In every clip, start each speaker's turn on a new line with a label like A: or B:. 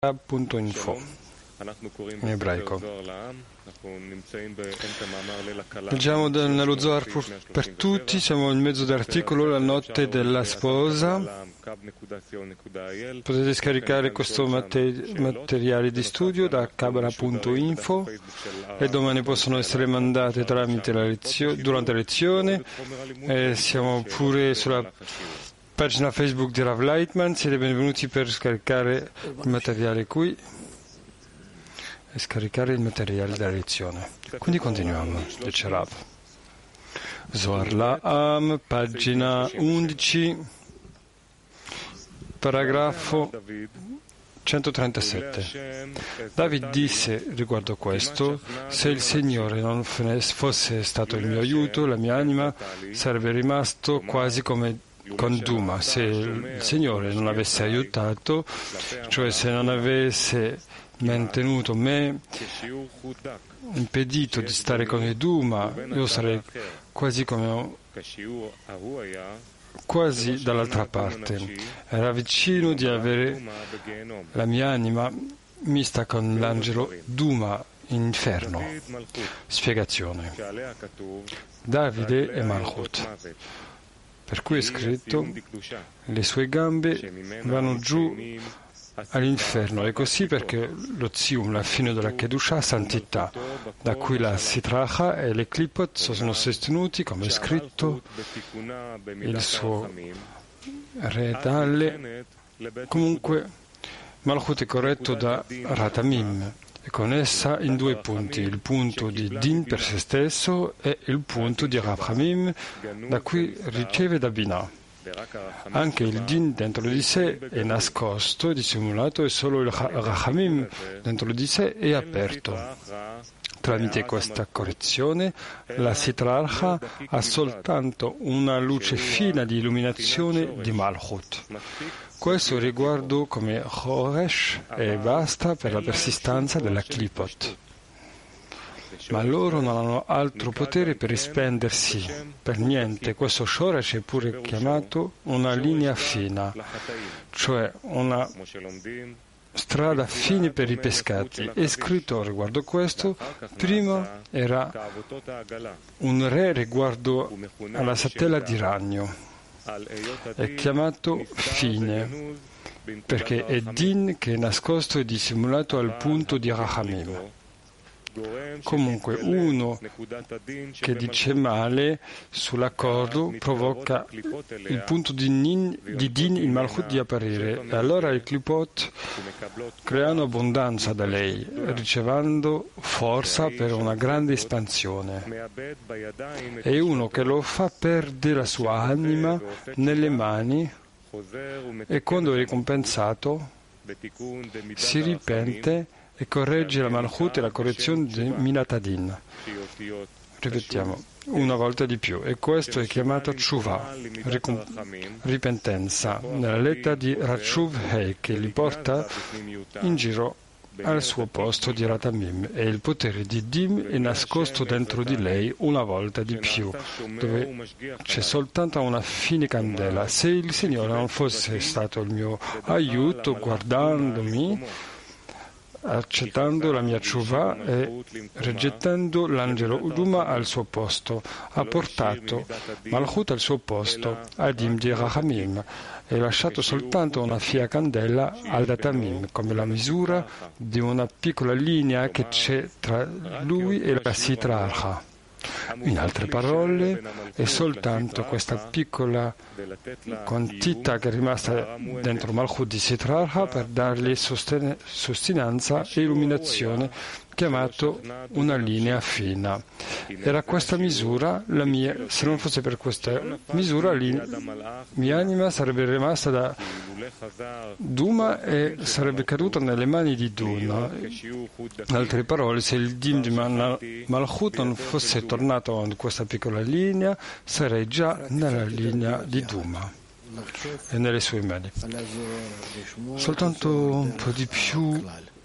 A: Kabbalah.info in ebraico. Leggiamo nello Zohar per tutti, siamo in mezzo dell'articolo La notte della sposa. Potete scaricare questo materiale di studio da Kabbalah.info e domani possono essere mandate tramite durante la lezione. Siamo pure sulla pagina Facebook di Rav Lightman. Siete benvenuti per scaricare il materiale qui e scaricare il materiale della lezione. Quindi continuiamo, dice Rav. Zohar La'am, pagina 11, paragrafo 137. David disse riguardo questo: se il Signore non fosse stato il mio aiuto, la mia anima sarebbe rimasto quasi come con Duma. Se il Signore non avesse aiutato, cioè se non avesse mantenuto me, impedito di stare con il Duma, io sarei quasi dall'altra parte. Era vicino di avere la mia anima mista con l'angelo Duma in inferno. Spiegazione. Davide e Malchut, per cui è scritto: le sue gambe vanno giù all'inferno, e così perché lo Zium, la fine della Kedusha, santità, da cui la Sitracha e le Klipot sono sostenuti, come è scritto, il suo re Dalle. Comunque Malchut è corretto da Ratamim, e con essa in due punti: il punto di Din per se stesso e il punto di Rachamim, da cui riceve da Binah. Anche il Din dentro di sé è nascosto e dissimulato, e solo il Rachamim dentro di sé è aperto. Tramite questa correzione, la Sitrarcha ha soltanto una luce fina di illuminazione di Malchut. Questo riguardo come Choresh e basta per la persistenza della Klipot. Ma loro non hanno altro potere per rispendersi. Per niente, questo Shoresh è pure chiamato una linea fina, cioè una strada fine per i peccati. È scritto riguardo questo: prima era un re riguardo alla satella di ragno. È chiamato fine, perché è Din che è nascosto e dissimulato al punto di Rachamim. Comunque, uno che dice male sull'accordo provoca il punto di Din in Malchut di apparire, e allora i Klipot creano abbondanza da lei, ricevendo forza per una grande espansione. E uno che lo fa perde la sua anima nelle mani, e quando è ricompensato si ripente e corregge la Malchut e la correzione di Minatadin. Ripetiamo una volta di più, e questo è chiamato Tshuva, ripentenza, nella lettera di Ratshuv Hei, che li porta in giro al suo posto di Ratamim, e il potere di Dim è nascosto dentro di lei una volta di più, dove c'è soltanto una fine candela. Se il Signore non fosse stato il mio aiuto, guardandomi, accettando la mia tshuva e rigettando l'angelo Uduma al suo posto, ha portato Malchut al suo posto, Adim di Rachamim, e lasciato soltanto una fia candela al Datamim, come la misura di una piccola linea che c'è tra lui e la Sitrarcha. In altre parole, è soltanto questa piccola quantità che è rimasta dentro Malchut di Sitrarcha per dargli sostenenza e illuminazione, chiamato una linea fina. Era questa misura la mia. Se non fosse per questa misura, mia anima sarebbe rimasta da Duma e sarebbe caduta nelle mani di Duna. In altre parole, se il Dim di Malchut non fosse tornato in questa piccola linea, sarei già nella linea di Duma e nelle sue mani. Soltanto un po' di più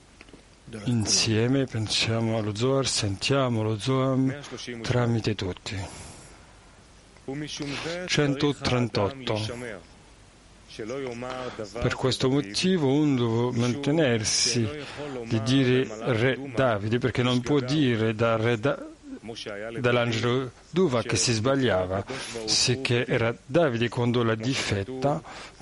A: insieme pensiamo allo Zohar, sentiamo lo Zohar tramite tutti. 138. Per questo motivo uno deve mantenersi di dire re Davide, perché non può dire dall'angelo Duva che si sbagliava, sicché era Davide quando l'ha difetta,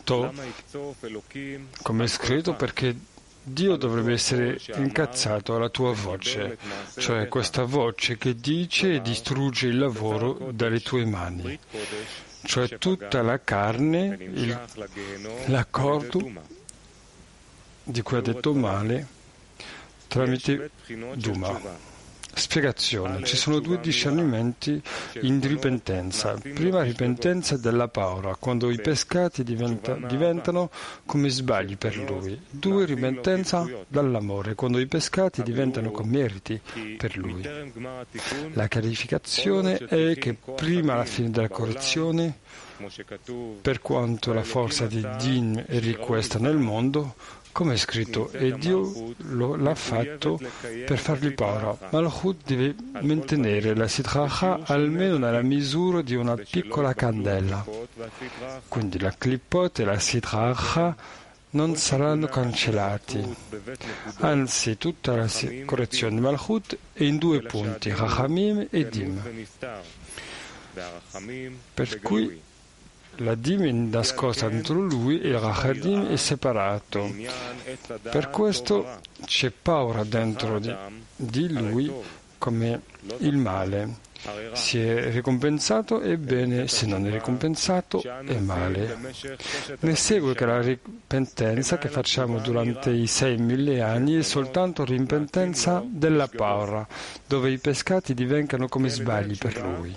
A: come è scritto, perché Dio dovrebbe essere incazzato alla tua voce, cioè questa voce che dice e distrugge il lavoro dalle tue mani, cioè tutta la carne, l'accordo di cui ha detto male tramite Duma. Spiegazione. Ci sono due discernimenti in ripentenza. Prima ripentenza della paura, quando i peccati diventano come sbagli per lui. Due, ripentenza dall'amore, quando i peccati diventano come meriti per lui. La chiarificazione è che prima alla fine della correzione, per quanto la forza di Din è richiesta nel mondo, come è scritto, e Dio l'ha fatto per fargli paura. Malchut deve mantenere la sitracha almeno nella misura di una piccola candela. Quindi la clipot e la sitracha non saranno cancellati. Anzi, tutta la correzione di Malchut è in due punti, Rachamim e Dim. Per cui la Dim è nascosta dentro lui e il Rachadim è separato. Per questo c'è paura dentro di lui come il male. Se è ricompensato è bene, se non è ricompensato è male. Ne segue che la ripentenza che facciamo durante i 6.000 anni è soltanto ripentenza della paura, dove i peccati diventano come sbagli per lui.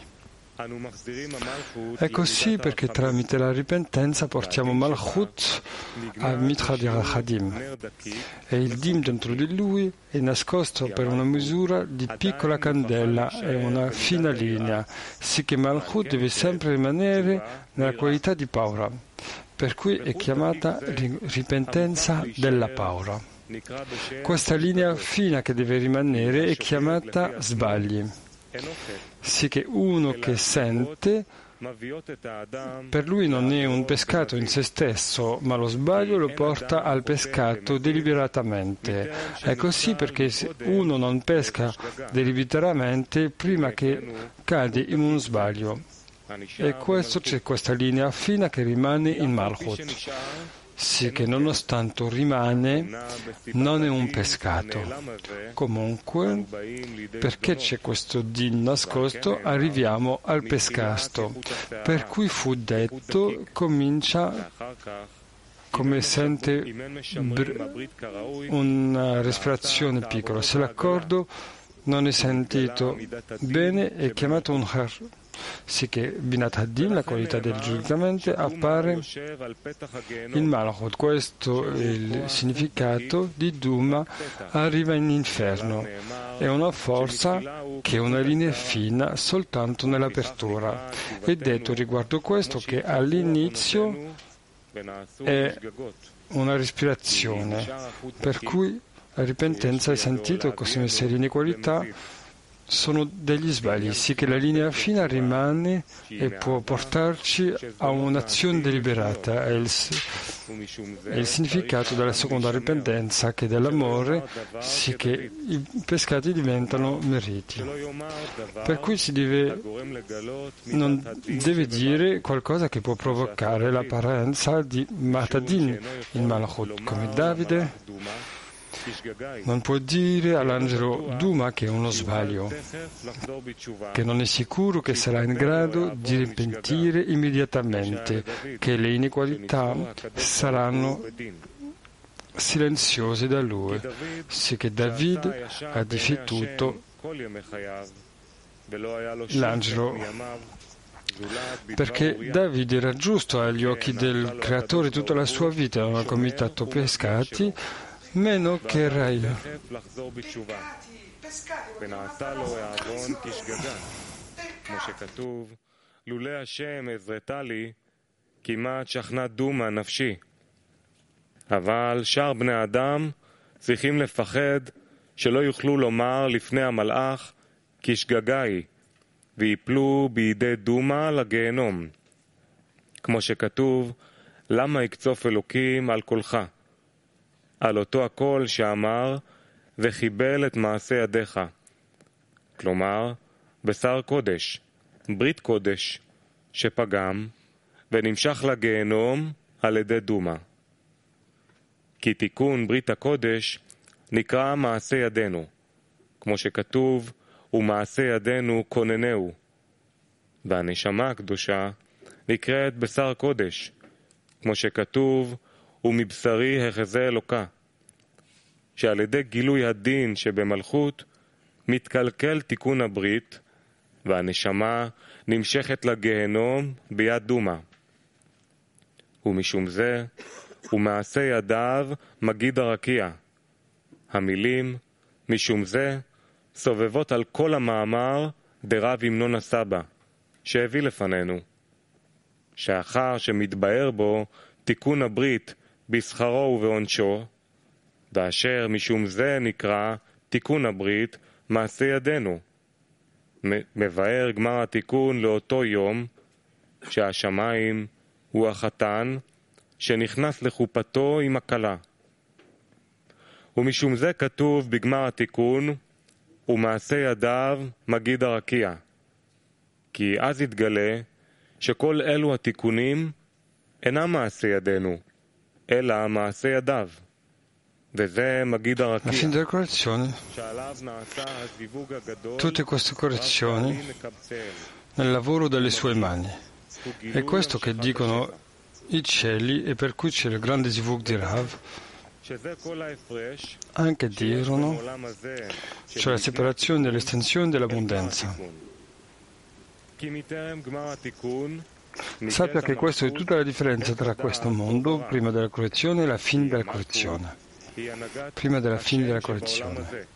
A: È così perché tramite la ripentenza portiamo Malchut al Mitra di Rachadim e il Dim dentro di lui è nascosto per una misura di piccola candela e una fina linea, sicché Malchut deve sempre rimanere nella qualità di paura, per cui è chiamata ripentenza della paura. Questa linea fina che deve rimanere è chiamata sbagli. Sì che uno che sente, per lui non è un peccato in se stesso, ma lo sbaglio lo porta al peccato deliberatamente. È così perché se uno non pesca deliberatamente prima che cade in uno sbaglio. E questo c'è questa linea fina che rimane in Malchut. Sì che nonostante rimane, non è un peccato. Comunque, perché c'è questo din nascosto, arriviamo al peccato. Per cui fu detto, comincia come sente una respirazione piccola. Se l'accordo non è sentito bene, è chiamato un har. Sì che Binat Hadin, la qualità del giudicamento, appare in Malachot. Questo è il significato di Duma, arriva in inferno. È una forza che è una linea fina soltanto nell'apertura. È detto riguardo questo che all'inizio è una respirazione, per cui la ripentenza è sentito come se l'inequalità sono degli sbagli, sì che la linea fina rimane e può portarci a un'azione deliberata. È il significato della seconda ripentenza, che dell'amore, sì che i peccati diventano meriti. Per cui non deve dire qualcosa che può provocare l'apparenza di Matadin in Malachut, come Davide non può dire all'angelo Duma che è uno sbaglio, che non è sicuro che sarà in grado di ripentire immediatamente, che le inequalità saranno silenziose da lui, sì che David ha difettato l'angelo, perché David era giusto agli occhi del Creatore tutta la sua vita, non ha commesso peccati, meno che Rai.
B: ונעשה לו אהרון כשגגה, כמו שכתוב, לולא השם עזרתה לי, כמעט שכנה דומה נפשי. אבל שאר בני האדם צריכים לפחד שלא יוכלו לומר לפני המלאך כשגגה היא, ויפלו בידי דומה לגיהנום. כמו שכתוב, למה יקצוף אלוקים על קולך? על אותו הקול שאמר וחיבל את מעשה ידיך. כלומר, בשר קודש, ברית קודש, שפגם ונמשך לגיהנום על ידי דומה. כי תיקון ברית הקודש נקרא מעשה ידינו, כמו שכתוב, ומעשה ידינו כוננהו. והנשמה הקדושה נקראת בשר קודש, כמו שכתוב, ומבשרי החזה אלוקה, שעל ידי גילוי הדין שבמלכות מתקלקל תיקון הברית, והנשמה נמשכת לגיהנום ביד דומה. ומשום זה, ומעשה ידיו מגיד הרקיע. המילים, משום זה, סובבות על כל המאמר דרב המנון הסבא, שהביא לפנינו. שאחר שמתבאר בו תיקון הברית בשכרו ובעונשו, ואשר משום זה נקרא תיקון הברית מעשה ידינו. מבאר גמר התיקון לאותו יום שהשמיים הוא החתן שנכנס לחופתו עם הכלה. ומשום זה כתוב בגמר התיקון ומעשה ידיו מגיד הרקיע. כי אז יתגלה שכל אלו התיקונים אינם מעשה ידינו, אלא מעשה ידיו. וזה מגיד הרקיע.
A: Alla fine della correzione, tutte queste correzioni nel lavoro delle sue mani. È questo che dicono i cieli e per cui c'è il grande zivug di Rav. Anche dirono, cioè la separazione dell'estensione dell'abbondanza. Sappia che questa è tutta la differenza tra questo mondo, prima della correzione, e la fine della correzione. Prima della fine della correzione.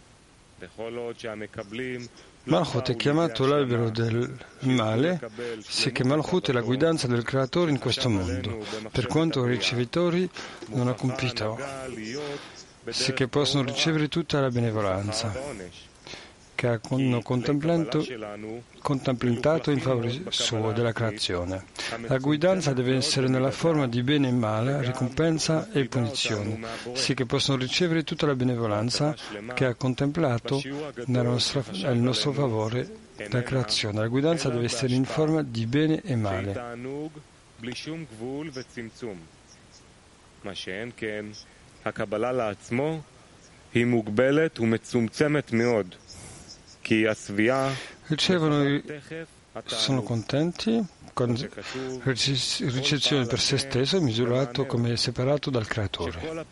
A: Malchut è chiamato l'albero del male, sicché Malchut è la guidanza del Creatore in questo mondo, per quanto i ricevitori non ha compito, sicché possono ricevere tutta la benevolenza che hanno contemplato in favore suo della creazione. La guidanza deve essere nella forma di bene e male, ricompensa e punizione, sì che possono ricevere tutta la benevolenza che ha contemplato nel nostro favore della creazione. La guidanza deve essere in forma di bene e male. Ricevono, sono contenti con ricezione per se stesso, misurato come separato dal Creatore.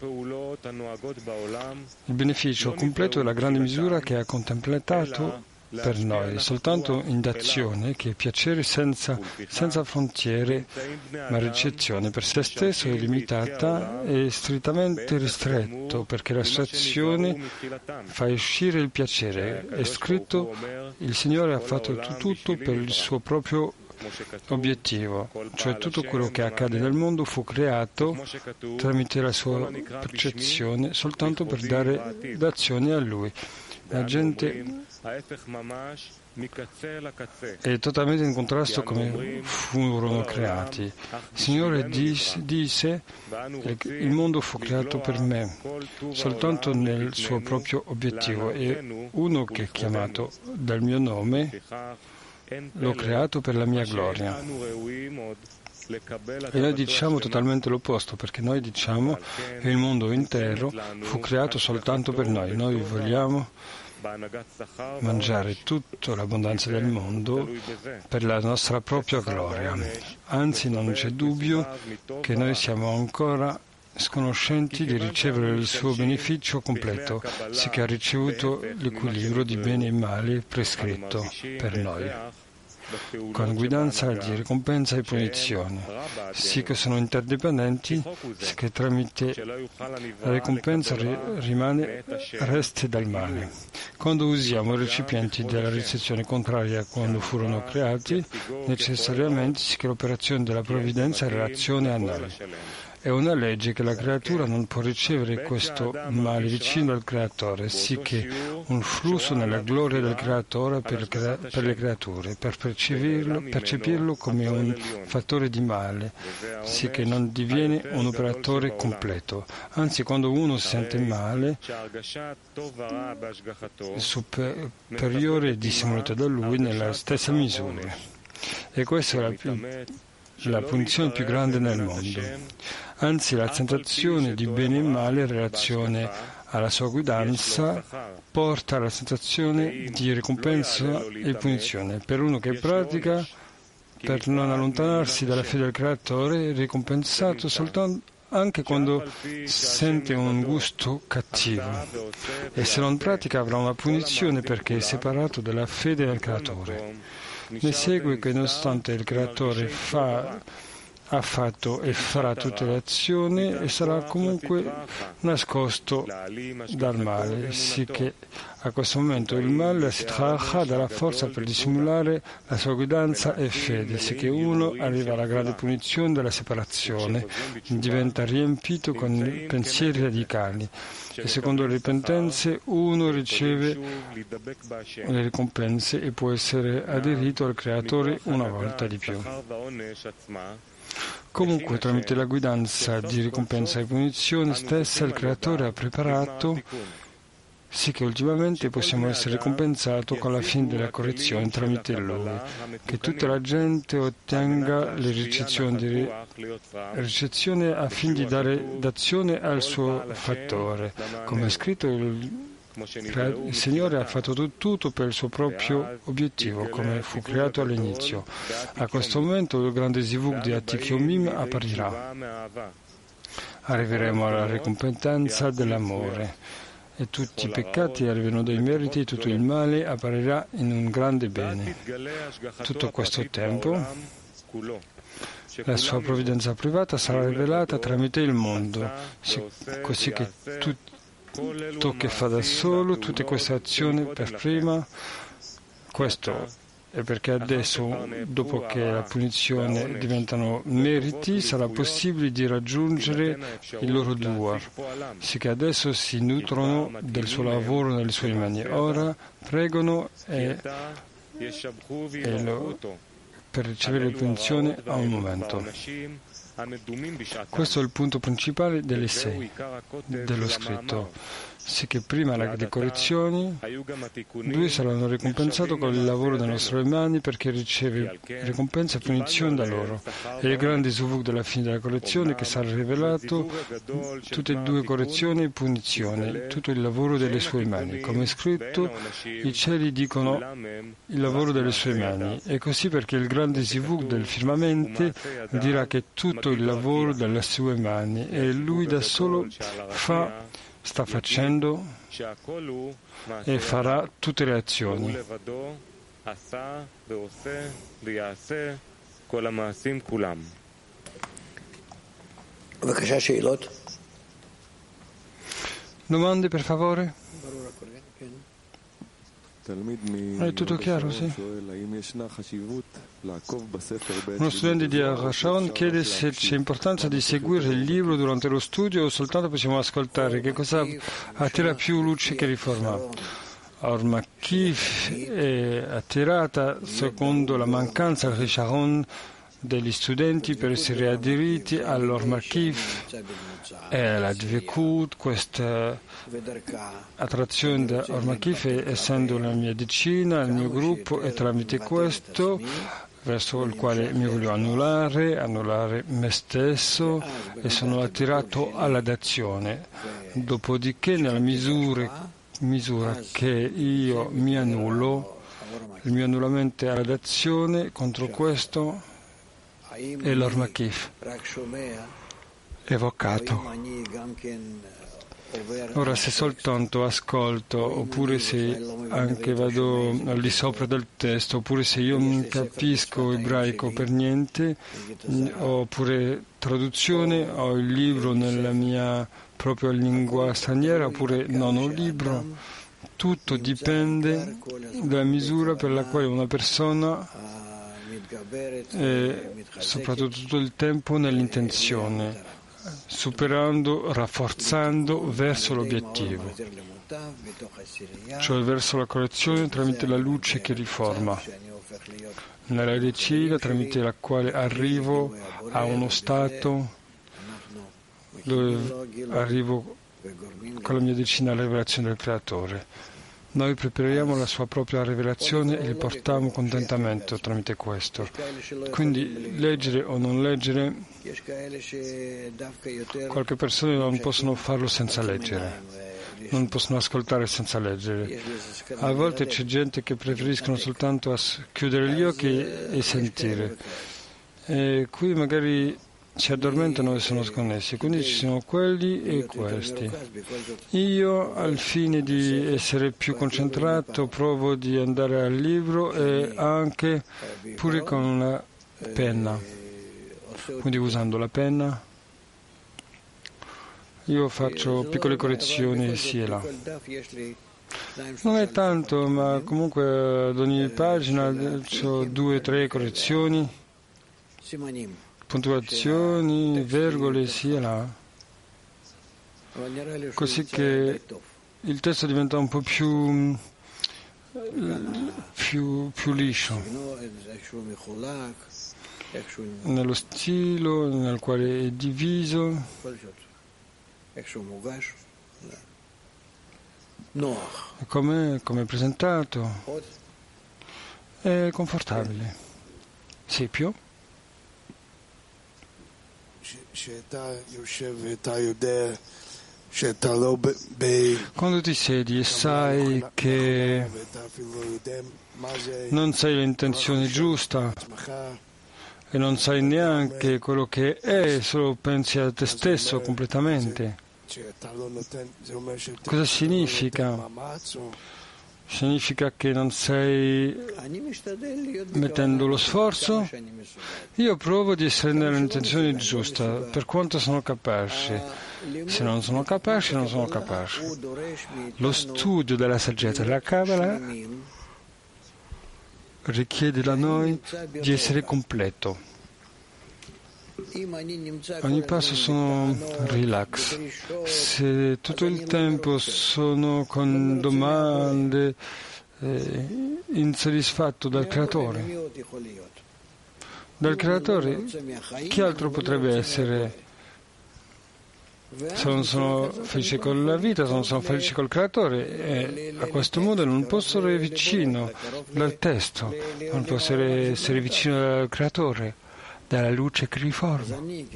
A: Il beneficio completo è la grande misura che ha contemplato per noi, soltanto in d'azione, che è piacere senza frontiere, ma ricezione per se stesso è limitata e strettamente ristretto, perché la sua azione fa uscire il piacere. È scritto, il Signore ha fatto tutto per il suo proprio obiettivo, cioè tutto quello che accade nel mondo fu creato tramite la sua percezione soltanto per dare d'azione a Lui. La gente è totalmente in contrasto come furono creati. Il Signore disse: il mondo fu creato per me, soltanto nel suo proprio obiettivo, e uno che è chiamato dal mio nome l'ho creato per la mia gloria. E noi diciamo totalmente l'opposto, perché noi diciamo che il mondo intero fu creato soltanto per noi. Noi vogliamo mangiare tutta l'abbondanza del mondo per la nostra propria gloria. Anzi, non c'è dubbio che noi siamo ancora sconoscenti di ricevere il suo beneficio completo, sicché ha ricevuto l'equilibrio di bene e male prescritto per noi, con guidanza di ricompensa e punizione, sì che sono interdipendenti, sì che tramite la ricompensa resti dal male. Quando usiamo i recipienti della ricezione contraria a quando furono creati, necessariamente sì che l'operazione della provvidenza è relazione a noi. È una legge che la creatura non può ricevere questo male vicino al creatore, sicché un flusso nella gloria del creatore per le creature, per percepirlo come un fattore di male, sicché non diviene un operatore completo. Anzi, quando uno si sente male, il superiore è dissimulato da lui nella stessa misura. E questa è la punizione più grande nel mondo. Anzi, la sensazione di bene e male in relazione alla sua guidanza porta alla sensazione di ricompensa e punizione. Per uno che pratica, per non allontanarsi dalla fede del creatore, è ricompensato soltanto anche quando sente un gusto cattivo, e se non pratica avrà una punizione perché è separato dalla fede del creatore. Ne segue che nonostante il creatore ha fatto e farà tutte le azioni e sarà comunque nascosto dal male, sicché a questo momento il male, la sitracha, dà la forza per dissimulare la sua guidanza e fede, sicché uno arriva alla grande punizione della separazione, diventa riempito con pensieri radicali e secondo le ripentenze uno riceve le ricompense e può essere aderito al creatore una volta di più. Comunque, tramite la guidanza di ricompensa e punizione stessa, il Creatore ha preparato sì che ultimamente possiamo essere ricompensati con la fine della correzione tramite lui, che tutta la gente ottenga le ricezioni a fine di dare d'azione al suo fattore. Come è scritto, il Signore ha fatto tutto per il suo proprio obiettivo, come fu creato all'inizio. A questo momento il grande Zivug di Atik Yomim apparirà. Arriveremo alla ricompensa dell'amore e tutti i peccati arrivano dai meriti e tutto il male apparirà in un grande bene. Tutto questo tempo la sua provvidenza privata sarà rivelata tramite il mondo, così che tutto che fa da solo, tutte queste azioni per prima, questo è perché adesso, dopo che la punizione diventano meriti, sarà possibile di raggiungere il loro duar, sicché adesso si nutrono del suo lavoro nelle sue mani. Ora pregano per ricevere la punizione a un momento. Questo è il punto principale delle 6 dello scritto, sicché prima le correzioni, lui saranno ricompensati con il lavoro delle nostre mani perché riceve ricompensa e punizione da loro. E il grande Zuvuk della fine della correzione che sarà rivelato tutte e due correzioni e punizione, tutto il lavoro delle sue mani. Come è scritto, i cieli dicono il lavoro delle sue mani. E così perché il grande Zivug del firmamento dirà che tutto il lavoro delle sue mani e lui da solo sta facendo e farà tutte le azioni. Domande, per favore? È tutto chiaro, sì? Uno studente di Arashon chiede se c'è importanza di seguire il libro durante lo studio o soltanto possiamo ascoltare. Che cosa attira più luce che riforma? Or-Makif è attirata secondo la mancanza di Sharon degli studenti per essere aderiti all'Or-Makif e la Dvekut. Questa attrazione da Or-Makif, essendo la mia decina, il mio gruppo, e tramite questo verso il quale mi voglio annullare me stesso e sono attirato alla dazione. Dopodiché, nella misura che io mi annullo, il mio annullamento è alla dazione, contro questo è l'Or-Makif evocato. Ora, se soltanto ascolto, oppure se anche vado al di sopra del testo, oppure se io non capisco ebraico per niente, oppure traduzione, ho il libro nella mia propria lingua straniera, oppure non ho il libro, tutto dipende dalla misura per la quale una persona è soprattutto tutto il tempo nell'intenzione. superando, rafforzando verso l'obiettivo, cioè verso la correzione tramite la luce che riforma, nella decina tramite la quale arrivo a uno stato dove arrivo con la mia decina alla rivelazione del Creatore. Noi prepariamo la sua propria rivelazione e gli portiamo contentamento tramite questo. Quindi leggere o non leggere, qualche persone non possono farlo senza leggere, non possono ascoltare senza leggere. A volte c'è gente che preferiscono soltanto chiudere gli occhi e sentire. E qui magari si addormentano e sono sconnessi, quindi ci sono quelli e questi. Io, al fine di essere più concentrato, provo di andare al libro e anche pure con una penna, quindi usando la penna io faccio piccole correzioni sì e là. Non è tanto, ma comunque ad ogni pagina ho 2 o 3 correzioni, puntuazioni, virgole, sì e là, così che il testo diventa un po' più liscio, nello stile nel quale è diviso, come è presentato, è confortabile. Sì, più? Quando ti siedi e sai che non sai l'intenzione giusta e non sai neanche quello che è, solo pensi a te stesso completamente. Cosa significa? Significa che non stai mettendo lo sforzo? Io provo di essere nell'intenzione giusta, per quanto sono capace. Se non sono capace, non sono capace. Lo studio della saggezza della Kabbalah richiede da noi di essere completo. Ogni passo sono relax. Se tutto il tempo sono con domande, insoddisfatto dal Creatore. Dal Creatore, chi altro potrebbe essere? Se non sono felice con la vita, se non sono felice col Creatore, e a questo modo non posso essere vicino dal testo, non posso essere vicino dal Creatore, dalla luce che riforma.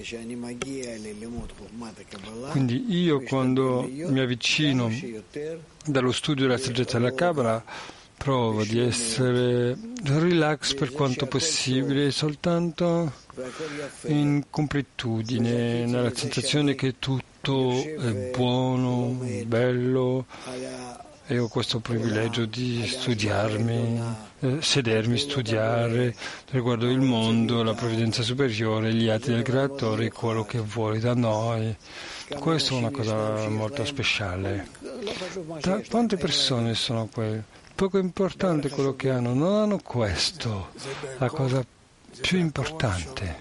A: Quindi io, quando mi avvicino dallo studio della saggezza della Kabbalah, provo di essere relax per quanto possibile, soltanto in completudine, nella sensazione che tutto è buono, bello, e ho questo privilegio di studiarmi, sedermi, studiare riguardo il mondo, la provvidenza superiore, gli atti del Creatore, quello che vuole da noi. Questa è una cosa molto speciale. Quante persone sono quelle? Poco importante quello che hanno, non hanno questo, la cosa più importante.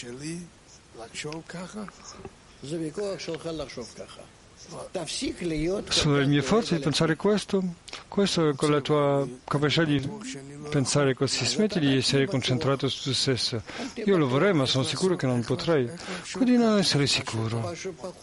A: Sono le mie forze di pensare questo? Questo è con la tua capacità di pensare così. Smetti di essere concentrato su te stesso. Io lo vorrei, ma sono sicuro che non potrei. Quindi non essere sicuro.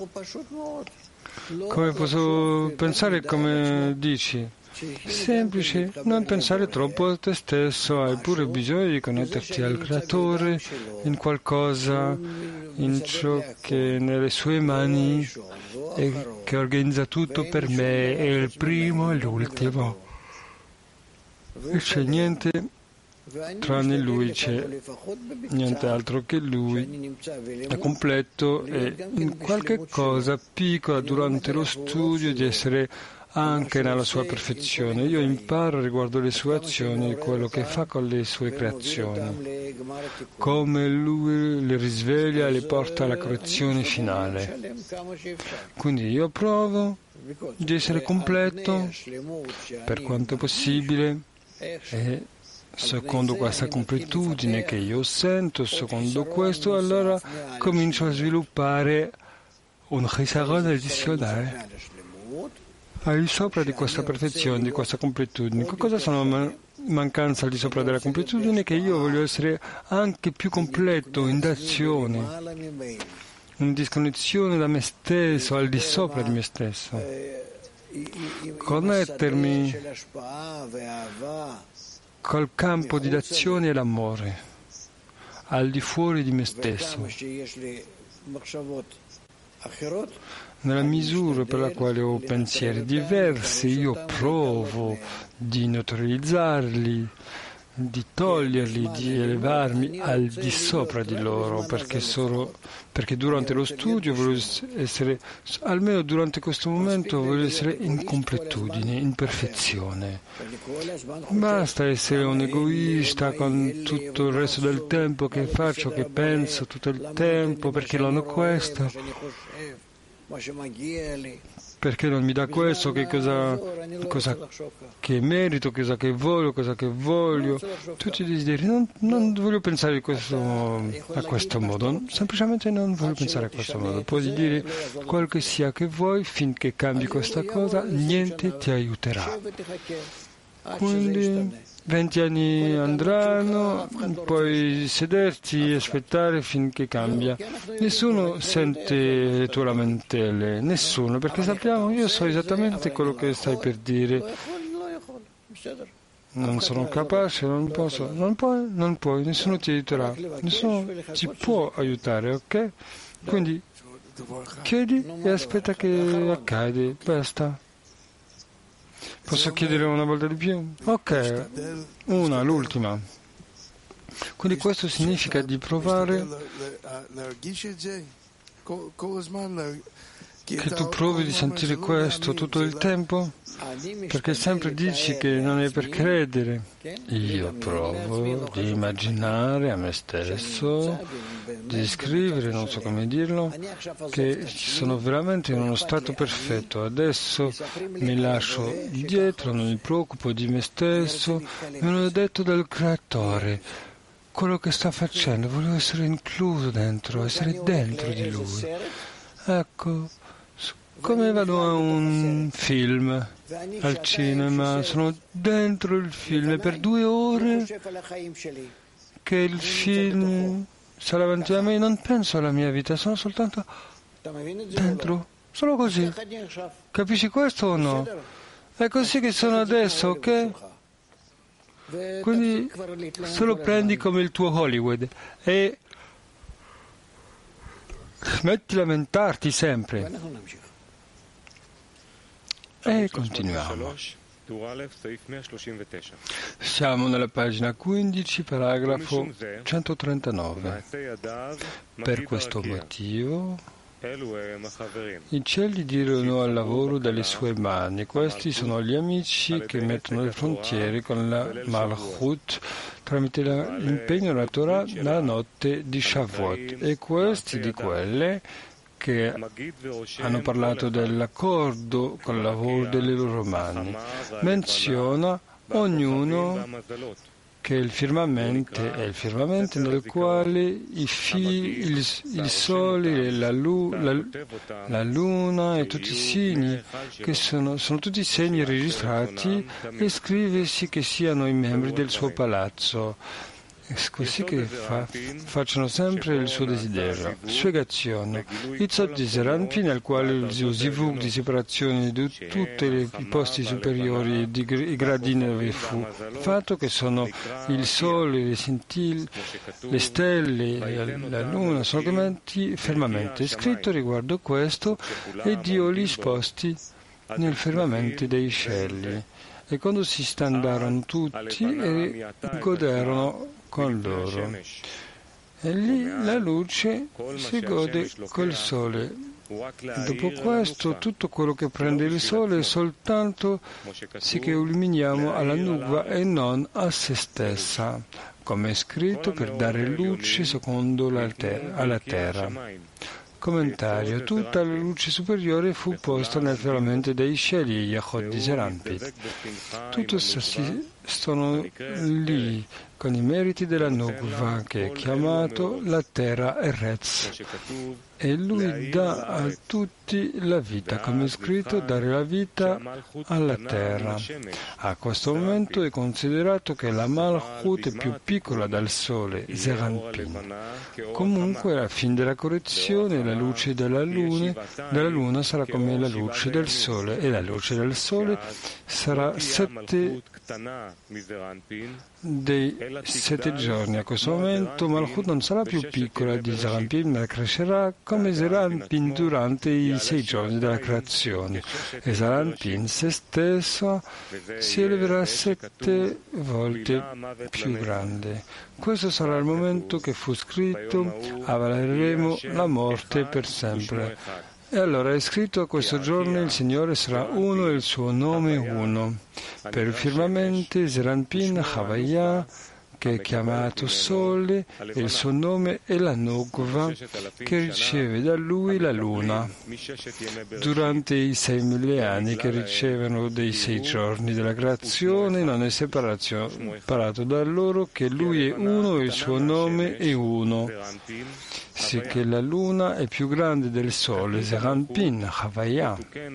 A: Come posso pensare come dici? Semplice, non pensare troppo a te stesso, hai pure bisogno di connetterti al Creatore, in qualcosa, in ciò che è nelle sue mani e che organizza tutto per me, è il primo e l'ultimo. E c'è niente tranne Lui, c'è niente altro che Lui, è completo e in qualche cosa piccola durante lo studio di essere anche nella sua perfezione. Io imparo riguardo le sue azioni, quello che fa con le sue creazioni, come Lui le risveglia e le porta alla correzione finale. Quindi io provo di essere completo per quanto possibile e secondo questa completudine che io sento, secondo questo, allora comincio a sviluppare un chisaron addizionale al di sopra di questa perfezione, di questa completudine. Che cosa sono mancanze al di sopra della completudine? Che io voglio essere anche più completo in d'azione, in disconnessione da me stesso, al di sopra di me stesso. Connettermi col campo di d'azione e l'amore, al di fuori di me stesso, nella misura per la quale ho pensieri diversi, io provo di neutralizzarli, di toglierli, di elevarmi al di sopra di loro, perché durante lo studio voglio essere, almeno durante questo momento, voglio essere in completudine, in perfezione. Basta essere un egoista con tutto il resto del tempo che faccio, che penso tutto il tempo, perché non ho questo, perché non mi dà questo, che cosa che merito, cosa che voglio, tutti i desideri. Non voglio pensare a questo modo, semplicemente non voglio pensare a questo modo. Puoi dire quel che sia che vuoi, finché cambi questa cosa, niente ti aiuterà. Quindi 20 anni andranno, puoi sederti e aspettare finché cambia. Nessuno sente le tue lamentele, nessuno, perché sappiamo, io so esattamente quello che stai per dire. Non sono capace, non posso, non puoi, nessuno ti aiuterà, nessuno ti può aiutare, ok? Quindi chiedi e aspetta che accade, basta. Posso chiedere una volta di più? Ok, l'ultima. Quindi questo significa di provare che tu provi di sentire questo tutto il tempo, perché sempre dici che non è per credere. Io provo di immaginare a me stesso, di scrivere, non so come dirlo, che sono veramente in uno stato perfetto. Adesso mi lascio dietro, non mi preoccupo di me stesso, me l'ho detto dal Creatore. Quello che sta facendo, voglio essere incluso dentro, essere dentro di Lui. Ecco. Come vado a un film al cinema, sono dentro il film e per 2 ore che il film sta davanti a me, non penso alla mia vita, sono soltanto dentro, solo così. Capisci questo o no? È così che sono adesso, ok? Quindi solo prendi come il tuo Hollywood e smetti di lamentarti sempre. E continuiamo. Siamo nella pagina 15, paragrafo 139. Per questo motivo i cieli dirono al lavoro delle sue mani. Questi sono gli amici che mettono le frontiere con la Malchut tramite l'impegno della Torah nella notte di Shavuot. E questi di quelle che hanno parlato dell'accordo con il lavoro delle loro mani. Menziona ognuno che il firmamento è il firmamento nel quale il sole, la luna e tutti i segni, che sono tutti segni registrati, e scriversi che siano i membri del suo palazzo. Così che facciano sempre il suo desiderio. Spiegazione. Itzot di Zeranpi, nel quale lo zivug di separazione di tutti i posti superiori i gradini dove fu fatto, che sono il sole, le scintille, le stelle, la luna, sono chiamati firmamento. È scritto riguardo questo, e Dio li sposti nel firmamento dei cieli. E quando si standarono tutti e goderono con loro. E lì la luce si gode col sole. Dopo questo, tutto quello che prende il sole è soltanto sì che illuminiamo alla nuvua e non a se stessa, come è scritto, per dare luce secondo alla terra. Commentario. Tutta la luce superiore fu posta nel firmamento dei cieli, Yachod di Zeranpit. Tutto sono lì con i meriti della Nukva, che è chiamato la terra Eretz. e lui dà a tutti la vita, come è scritto, dare la vita alla terra. A questo momento è considerato che la Malchut è più piccola dal Sole, Zeranpin. Comunque, alla fine della correzione, la luce della luna sarà come la luce del Sole, e la luce del Sole sarà 7 dei 7 giorni. A questo momento Malchut non sarà più piccola di Zeranpin, ma crescerà come Zeranpin durante i 6 giorni della creazione, e Zeranpin se stesso si eleverà 7 volte più grande. Questo sarà il momento che fu scritto: avaleremo la morte per sempre. E allora è scritto: a questo giorno il Signore sarà uno e il suo nome uno. Per il firmamento Zeranpin Havaya, che è chiamato Sole, e il suo nome è la Nukva, che riceve da lui la luna. Durante i 6.000 anni che ricevono dei 6 giorni della creazione, non è separato da loro, che lui è uno e il suo nome è uno. Sicché la luna è più grande del sole, Zeranpin Havaya.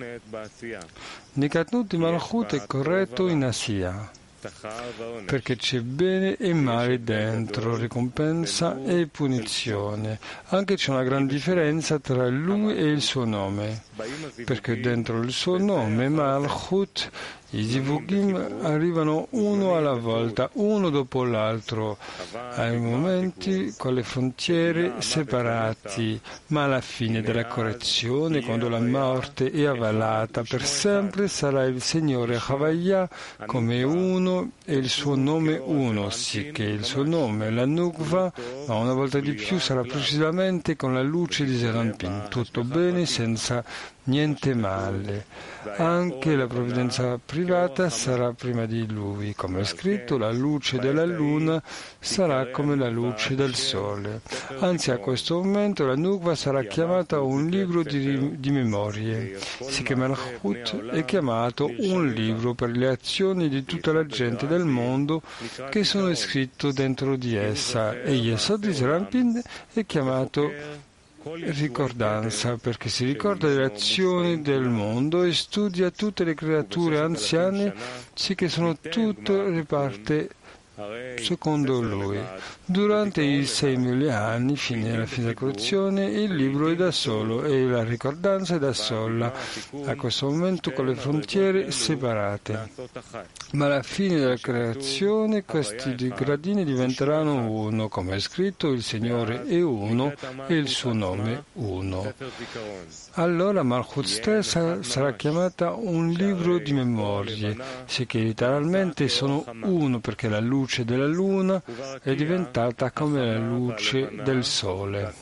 A: Nikatnut di Malchut è corretto in Asiya, perché c'è bene e male dentro, ricompensa e punizione. Anche c'è una gran differenza tra lui e il suo nome, perché dentro il suo nome, Malchut, i Zivugim arrivano uno alla volta, uno dopo l'altro, ai momenti con le frontiere separati, ma alla fine della correzione, quando la morte è avvalata per sempre, sarà il Signore Havaya come uno e il suo nome uno, sicché il suo nome, la Nukva, ma una volta di più sarà precisamente con la luce di Zeranpin, tutto bene senza niente male. Anche la provvidenza privata sarà prima di lui. Come è scritto, la luce della luna sarà come la luce del sole. Anzi, a questo momento la Nukva sarà chiamata un libro di memorie. Sicché Malchut è chiamato un libro per le azioni di tutta la gente del mondo che sono scritte dentro di essa. E Yesod di Zeranpin è chiamato ricordanza, perché si ricorda delle azioni del mondo e studia tutte le creature anziane, sì che sono tutte riparte secondo lui. Durante i 6.000 anni, fino alla fine della correzione, il libro è da solo e la ricordanza è da sola, a questo momento con le frontiere separate. Ma alla fine della creazione questi gradini diventeranno uno, come è scritto: il Signore è uno e il suo nome uno. Allora Malchut stessa sarà chiamata un libro di memorie, sicché letteralmente sono uno, perché la luce della luna è diventata come la luce del sole.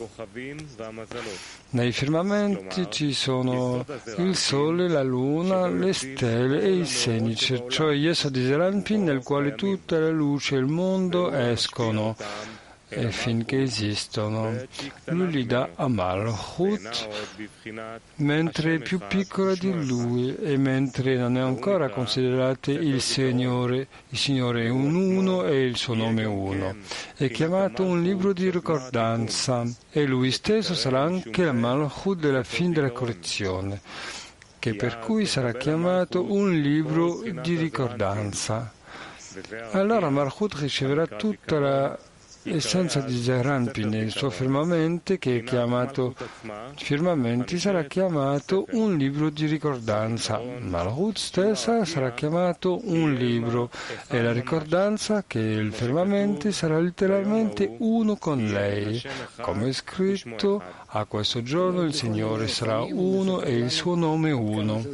A: Nei firmamenti ci sono il sole, la luna, le stelle e i segni, cioè Yesod di Zeranpin, nel quale tutta la luce e il mondo escono e finché esistono. Lui li dà a Malchut mentre è più piccola di lui e mentre non è ancora considerato il Signore è un uno e il suo nome uno. È chiamato un libro di ricordanza e lui stesso sarà anche la Malchut della fine della correzione, che per cui sarà chiamato un libro di ricordanza. Allora Malchut riceverà tutta la essenza di Zeranpin, il suo firmamento, che è chiamato firmamenti, sarà chiamato un libro di ricordanza. Malchut stessa sarà chiamato un libro e la ricordanza, che è il firmamento, sarà letteralmente uno con lei. Come è scritto, a questo giorno il Signore sarà uno e il suo nome uno.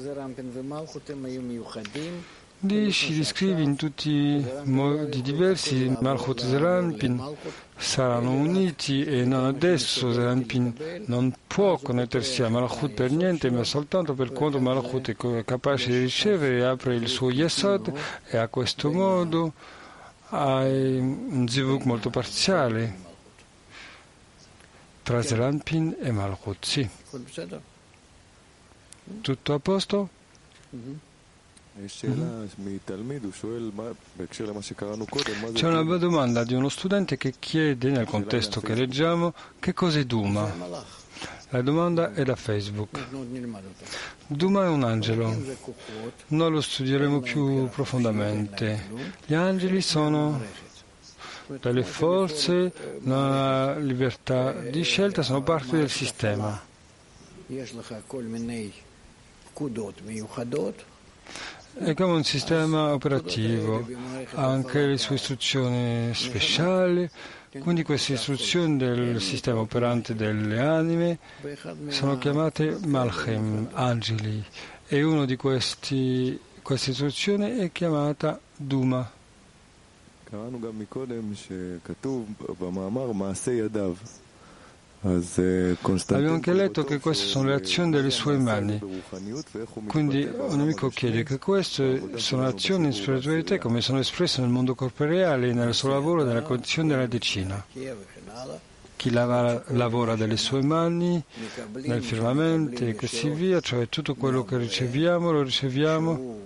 A: Lì si descrive in tutti i modi diversi. Malchut e Zeranpin saranno uniti e non adesso. Zeranpin non può connettersi a Malchut per niente, ma soltanto per quanto Malchut è capace di ricevere e apre il suo Yesod, e a questo modo ha un zivug molto parziale tra Zeranpin e Malchut. Sì. Tutto a posto? C'è una domanda di uno studente che chiede, nel contesto che leggiamo, che cos'è Duma? La domanda è da Facebook. Duma è un angelo. Noi lo studieremo più profondamente. Gli angeli sono delle forze, la libertà di scelta, sono parte del sistema. È come un sistema operativo, ha anche le sue istruzioni speciali, quindi queste istruzioni del sistema operante delle anime sono chiamate Malchem, angeli, e uno di queste istruzioni è chiamata Duma. Abbiamo anche letto che queste sono le azioni delle sue mani. Quindi un amico chiede che queste sono azioni in spiritualità come sono espresse nel mondo corporeale, nel suo lavoro, nella condizione della decina. Chi lavora delle sue mani, nel firmamento e così via, cioè tutto quello che riceviamo lo riceviamo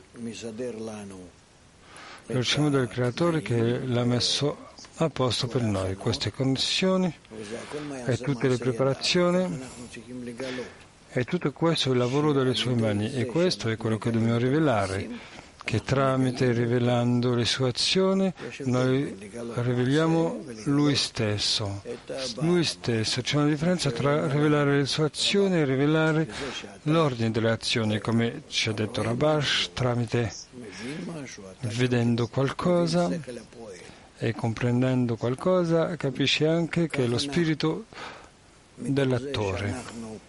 A: dal Creatore che l'ha messo a posto per noi. Queste connessioni e tutte le preparazioni e tutto questo è il lavoro delle sue mani e questo è quello che dobbiamo rivelare, che tramite rivelando le sue azioni noi riveliamo Lui stesso. C'è una differenza tra rivelare le sue azioni e rivelare l'ordine delle azioni, come ci ha detto Rabash, tramite vedendo qualcosa e comprendendo qualcosa capisce anche che è lo spirito dell'attore.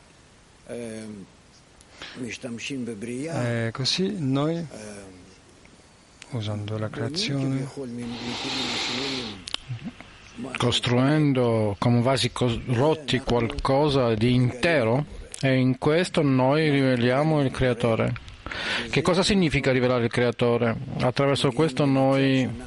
A: E così noi, usando la creazione,
C: costruendo come vasi rotti qualcosa di intero, e in questo noi riveliamo il Creatore. Che cosa significa rivelare il Creatore? Attraverso questo noi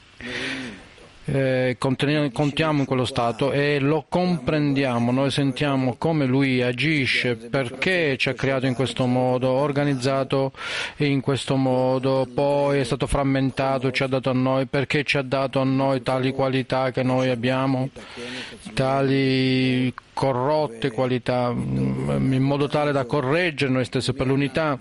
C: contiamo in quello stato e lo comprendiamo, noi sentiamo come lui agisce, perché ci ha creato in questo modo, organizzato in questo modo, poi è stato frammentato, ci ha dato a noi, perché ci ha dato a noi tali qualità che noi abbiamo, tali corrotte qualità, in modo tale da correggere noi stessi per l'unità.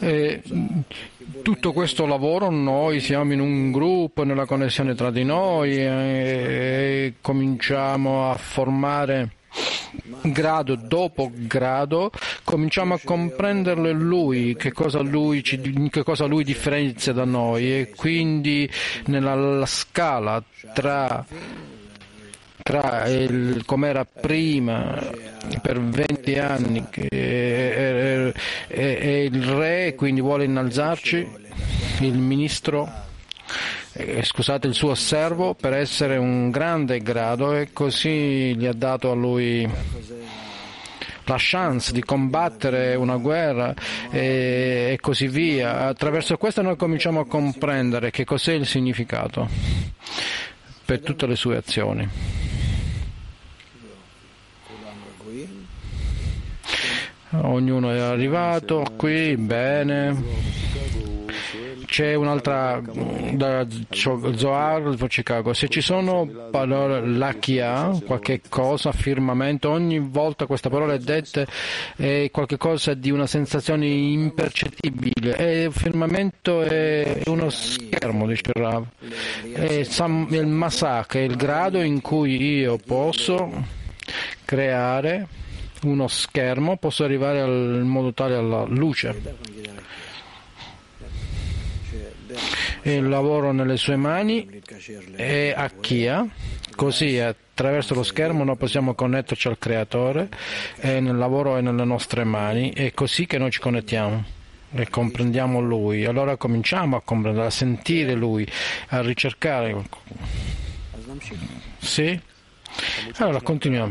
C: Tutto questo lavoro noi siamo in un gruppo, nella connessione tra di noi e cominciamo a formare grado dopo grado, cominciamo a comprenderlo lui, che cosa lui differenzia da noi, e quindi nella scala tra come era prima per 20 anni e il re quindi vuole innalzarci, il ministro, il suo servo, per essere un grande grado, e così gli ha dato a lui la chance di combattere una guerra e così via. Attraverso questo noi cominciamo a comprendere che cos'è il significato per tutte le sue azioni. Ognuno è arrivato qui, bene. C'è un'altra da Zohar, Chicago. Se ci sono parole lakia, qualche cosa, affirmamento, ogni volta questa parola è detta è qualche cosa di una sensazione impercettibile. E il firmamento è uno schermo, dice Rav. Il masak è il grado in cui io posso creare uno schermo, posso arrivare in modo tale alla luce. Il lavoro nelle sue mani è Akkia, così attraverso lo schermo noi possiamo connetterci al Creatore, e nel lavoro è nelle nostre mani, è così che noi ci connettiamo e comprendiamo Lui. Allora cominciamo a comprendere, a sentire Lui, a ricercare. Sì? Allora continuiamo.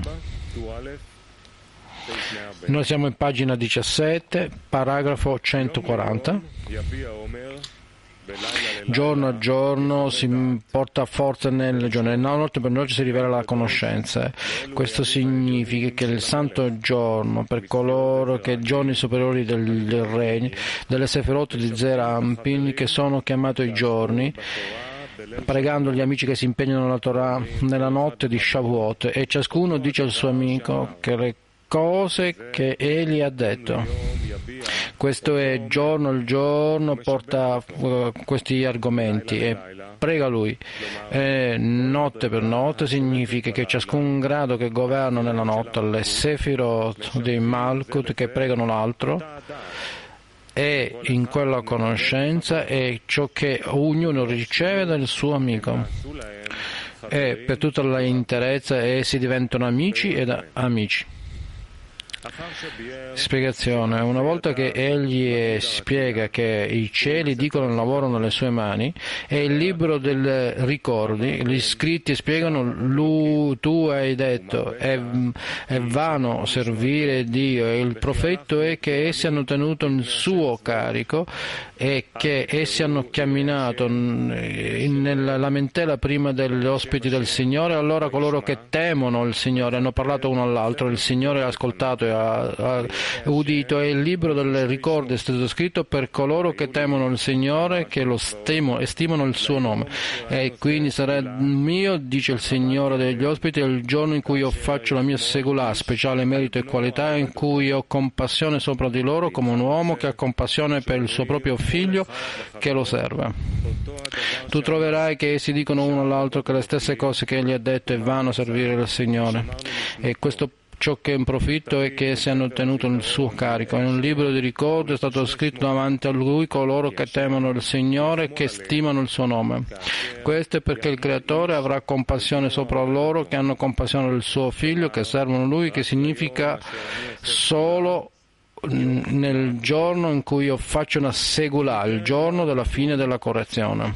C: Noi siamo in pagina 17, paragrafo 140. Giorno a giorno si porta forza nelle giorni, nella notte per notte si rivela la conoscenza. Questo significa che il santo giorno, per coloro che giorni superiori del regno, delle Sefirot di Zerampin, che sono chiamati i giorni, pregando gli amici che si impegnano nella Torah nella notte di Shavuot, e ciascuno dice al suo amico che cose che egli ha detto. Questo è giorno il giorno, porta questi argomenti e prega lui. E notte per notte significa che ciascun grado che governa nella notte, le Sefirot di Malkut che pregano l'altro, e in quella conoscenza è ciò che ognuno riceve dal suo amico. E per tutta la interezza essi diventano amici ed amici. Spiegazione. Una volta che egli spiega che i cieli dicono il lavoro nelle sue mani e il libro dei ricordi, gli scritti spiegano tu hai detto è vano servire Dio e il profeta è che essi hanno tenuto il suo carico e che essi hanno camminato nella lamentela prima degli ospiti del Signore. Allora coloro che temono il Signore hanno parlato uno all'altro, il Signore ha ascoltato e ha udito, e il libro del ricordo è stato scritto per coloro che temono il Signore, che lo stimano il suo nome. E quindi sarà mio, dice il Signore degli ospiti, il giorno in cui io faccio la mia segulà, speciale merito e qualità, in cui ho compassione sopra di loro come un uomo che ha compassione per il suo proprio figlio che lo serve. Tu troverai che essi dicono uno all'altro che le stesse cose che egli ha detto è vano servire il Signore. E questo ciò che è un profitto è che essi hanno tenuto il suo carico. In un libro di ricordo è stato scritto davanti a lui coloro che temono il Signore e che stimano il suo nome. Questo è perché il Creatore avrà compassione sopra loro che hanno compassione del suo figlio, che servono lui, che significa solo nel giorno in cui io faccio una segulà, il giorno della fine della correzione.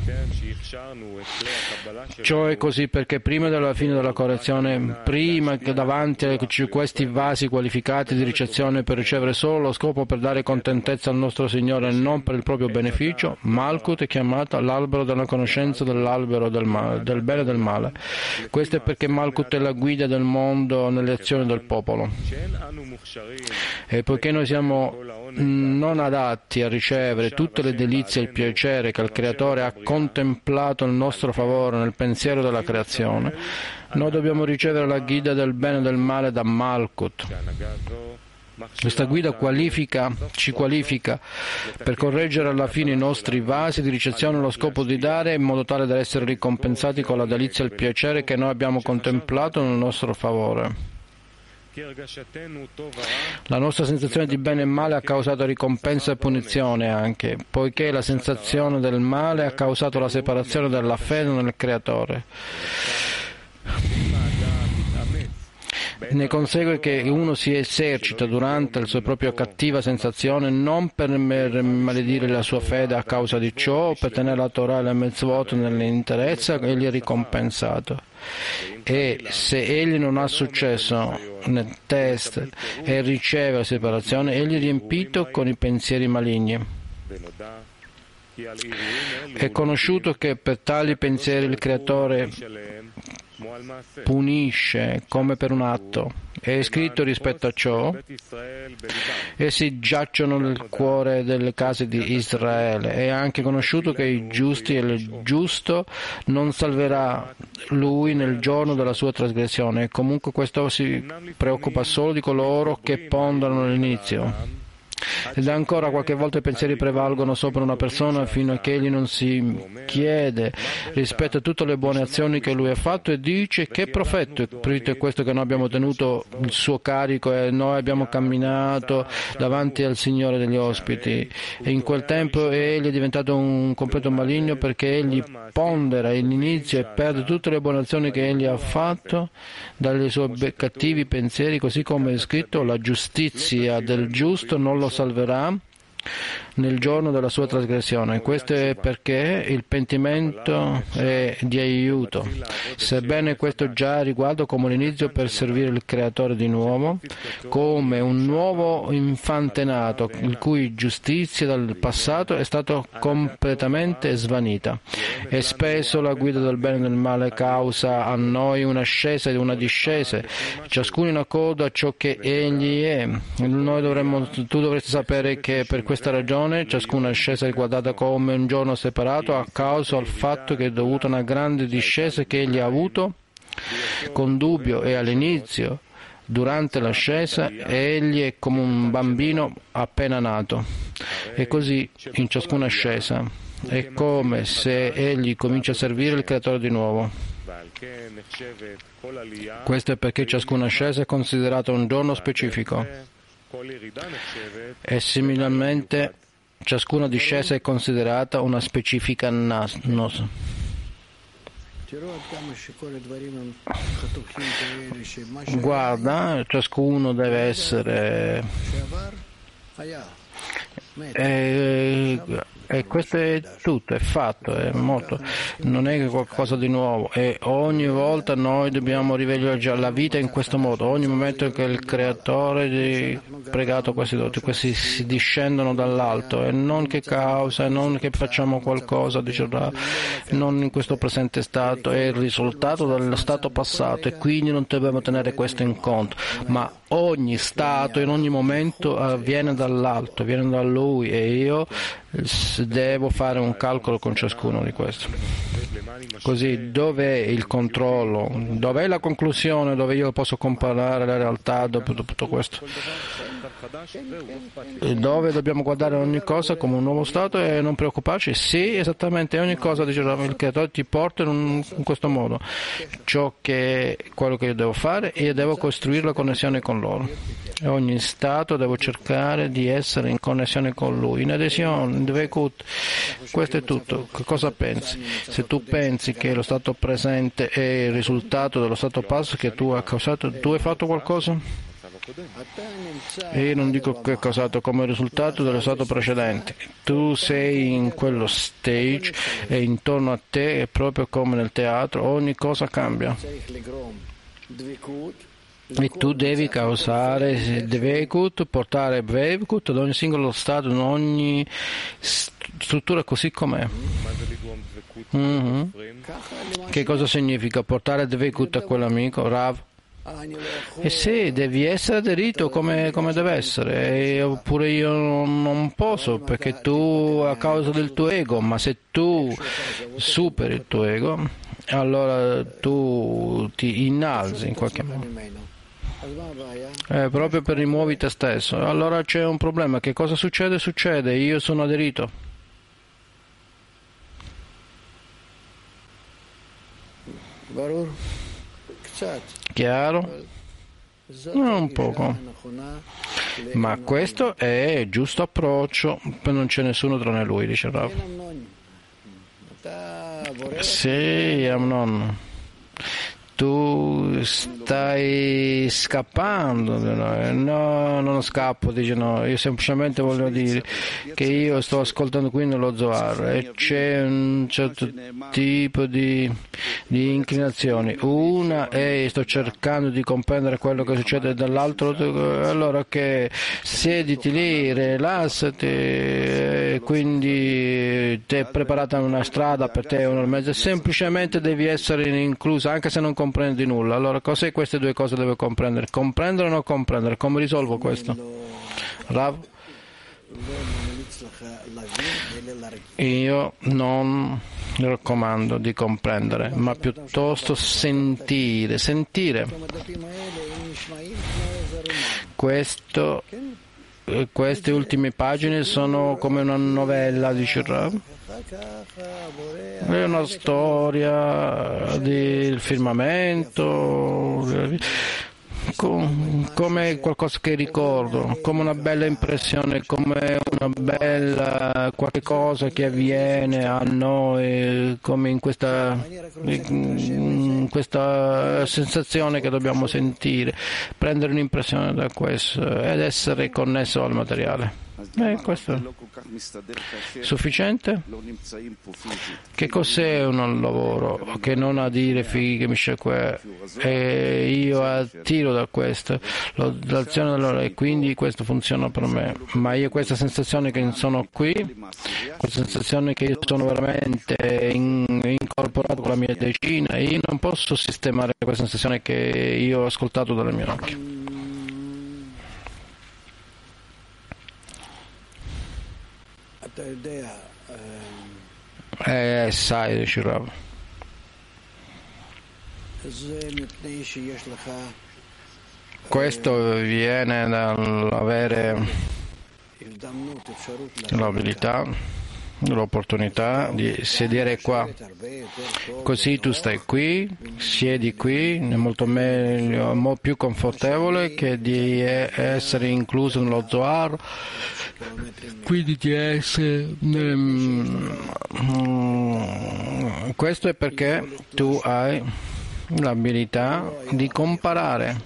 C: Ciò è così perché prima della fine della correzione, prima che davanti a questi vasi qualificati di ricezione per ricevere solo lo scopo per dare contentezza al nostro Signore e non per il proprio beneficio, Malkut è chiamata l'albero della conoscenza dell'albero del bene e del male. Questo è perché Malkut è la guida del mondo nelle azioni del popolo. E poiché noi siamo non adatti a ricevere tutte le delizie e il piacere che il Creatore ha contemplato nel nostro favore nel pensiero della creazione, noi dobbiamo ricevere la guida del bene e del male da Malkut. Questa guida ci qualifica per correggere alla fine i nostri vasi di ricezione allo scopo di dare in modo tale da essere ricompensati con la delizia e il piacere che noi abbiamo contemplato nel nostro favore. La nostra sensazione di bene e male ha causato ricompensa e punizione anche, poiché la sensazione del male ha causato la separazione della fede nel Creatore. Ne consegue che uno si esercita durante la sua propria cattiva sensazione non per maledire la sua fede a causa di ciò, o per tenere la Torah e la mitzvot nell'interezza, egli è ricompensato. E se egli non ha successo nel test e riceve la separazione, egli è riempito con i pensieri maligni. È conosciuto che per tali pensieri il Creatore punisce come per un atto. È scritto rispetto a ciò: essi giacciono nel cuore delle case di Israele. È anche conosciuto che i giusti e il giusto non salverà lui nel giorno della sua trasgressione. E comunque questo si preoccupa solo di coloro che ponderano all'inizio. Ed ancora qualche volta i pensieri prevalgono sopra una persona fino a che egli non si chiede rispetto a tutte le buone azioni che lui ha fatto e dice: che profetto è questo che noi abbiamo tenuto il suo carico e noi abbiamo camminato davanti al Signore degli ospiti. E in quel tempo egli è diventato un completo maligno, perché egli pondera all'inizio e perde tutte le buone azioni che egli ha fatto dai suoi cattivi pensieri, così come è scritto: la giustizia del giusto non lo salverà nel giorno della sua trasgressione. Questo è perché il pentimento è di aiuto, sebbene questo già riguarda come l'inizio per servire il Creatore di nuovo, come un nuovo infante nato, il cui giustizia dal passato è stata completamente svanita. E spesso la guida del bene e del male causa a noi un'ascesa e una discesa, ciascuno in accordo a ciò che egli è. Tu dovresti sapere che per questa ragione ciascuna ascesa è guardata come un giorno separato a causa del fatto che è dovuta a una grande discesa che egli ha avuto con dubbio e all'inizio Durante l'ascesa egli è come un bambino appena nato, e così in ciascuna ascesa è come se egli comincia a servire il Creatore di nuovo. Questo è perché ciascuna ascesa è considerata un giorno specifico e similarmente ciascuna discesa è considerata una specifica nos. Guarda, ciascuno deve essere e questo è tutto, è fatto, è molto, non è qualcosa di nuovo, e ogni volta noi dobbiamo rivegliare la vita in questo modo. Ogni momento che il Creatore ha pregato questi si discendono dall'alto, e non che causa, non che facciamo qualcosa, non in questo presente stato, è il risultato dello stato passato, e quindi non dobbiamo tenere questo in conto, ma ogni stato in ogni momento viene dall'alto, viene da Lui, e io devo fare un calcolo con ciascuno di questo. Così, dov'è il controllo? Dov'è la conclusione dove io posso comparare la realtà dopo tutto questo? E dove dobbiamo guardare ogni cosa come un nuovo stato e non preoccuparci? Sì, esattamente, ogni cosa, dice il Creatore ti porta in questo modo. Ciò che è quello che io devo fare, io devo costruire la connessione con loro. E ogni stato devo cercare di essere in connessione con Lui, in adesione, in dveikut. Questo è tutto. Che cosa pensi? Se tu pensi che lo stato presente è il risultato dello stato passato che tu hai causato, tu hai fatto qualcosa? E io non dico che è causato come risultato dello stato precedente. Tu sei in quello stage e intorno a te è proprio come nel teatro, ogni cosa cambia. E tu devi causare dveikut, portare dveikut ad ogni singolo stato, in ogni struttura così com'è. Che cosa significa portare dveikut a quell'amico, Rav? E se devi essere aderito come deve essere, oppure io non posso, perché tu a causa del tuo ego, ma se tu superi il tuo ego, allora tu ti innalzi in qualche modo. Proprio per rimuovi te stesso. Allora c'è un problema. Che cosa succede? Succede, io sono aderito. Chiaro? Un poco. Ma questo è il giusto approccio, non c'è nessuno tranne lui, dice Rav. Sì, Amnon. Tu stai scappando, no, non scappo, dice no, io semplicemente voglio dire che io sto ascoltando qui nello Zohar e c'è un certo tipo di inclinazioni. Una è sto cercando di comprendere quello che succede dall'altro, allora che siediti lì, rilassati, quindi ti è preparata una strada per te, una mezza, semplicemente devi essere inclusa, anche se non comprendi nulla. Allora cos'è queste due cose devo comprendere? Comprendere o non comprendere? Come risolvo questo? Rav? Io non raccomando di comprendere, ma piuttosto sentire. Queste ultime pagine sono come una novella, dice Rav. È una storia del firmamento, come qualcosa che ricordo, come una bella impressione, come una bella qualche cosa che avviene a noi, come in questa sensazione che dobbiamo sentire, prendere un'impressione da questo ed essere connesso al materiale. Questo è sufficiente? Che cos'è un lavoro che non a dire fighe mi e io attiro da questo l'azione e quindi questo funziona per me, ma io questa sensazione che sono qui, questa sensazione che io sono veramente incorporato con la mia decina, io non posso sistemare questa sensazione che io ho ascoltato dalle mie orecchie. Sai, dice Rav. Questo viene dall'avere l'abilità, l'opportunità di sedere qua. Così tu stai qui, siedi qui, è molto meglio, più confortevole che di essere incluso nello Zohar, quindi di essere... Questo è perché tu hai l'abilità di comparare.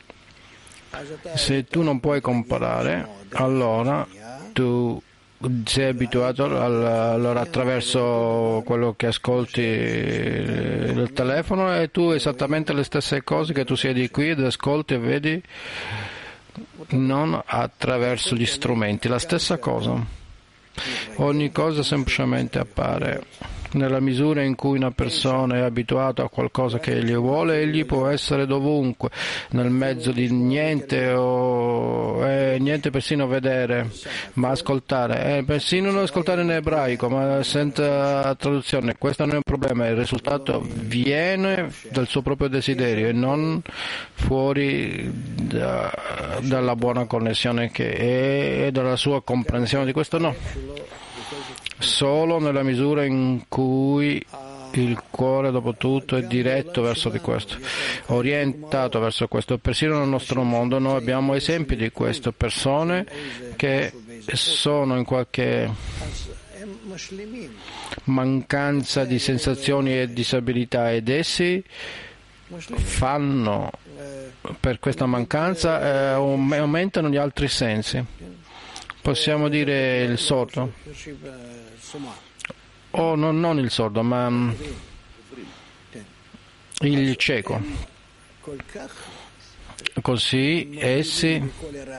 C: Se tu non puoi comparare, allora tu sei abituato allora attraverso quello che ascolti il telefono e tu esattamente le stesse cose che tu siedi qui ed ascolti e vedi, non attraverso gli strumenti, la stessa cosa. Ogni cosa semplicemente appare. Nella misura in cui una persona è abituata a qualcosa che egli vuole, egli può essere dovunque, nel mezzo di niente o niente persino vedere, ma ascoltare. Persino non ascoltare in ebraico, ma senza traduzione. Questo non è un problema, il risultato viene dal suo proprio desiderio e non fuori dalla buona connessione che è e dalla sua comprensione di questo no. Solo nella misura in cui il cuore dopo tutto è diretto verso di questo, orientato verso questo. Persino nel nostro mondo noi abbiamo esempi di questo, persone che sono in qualche mancanza di sensazioni e disabilità ed essi fanno per questa mancanza aumentano gli altri sensi. Possiamo dire il sordo, o non il sordo, ma il cieco. Così essi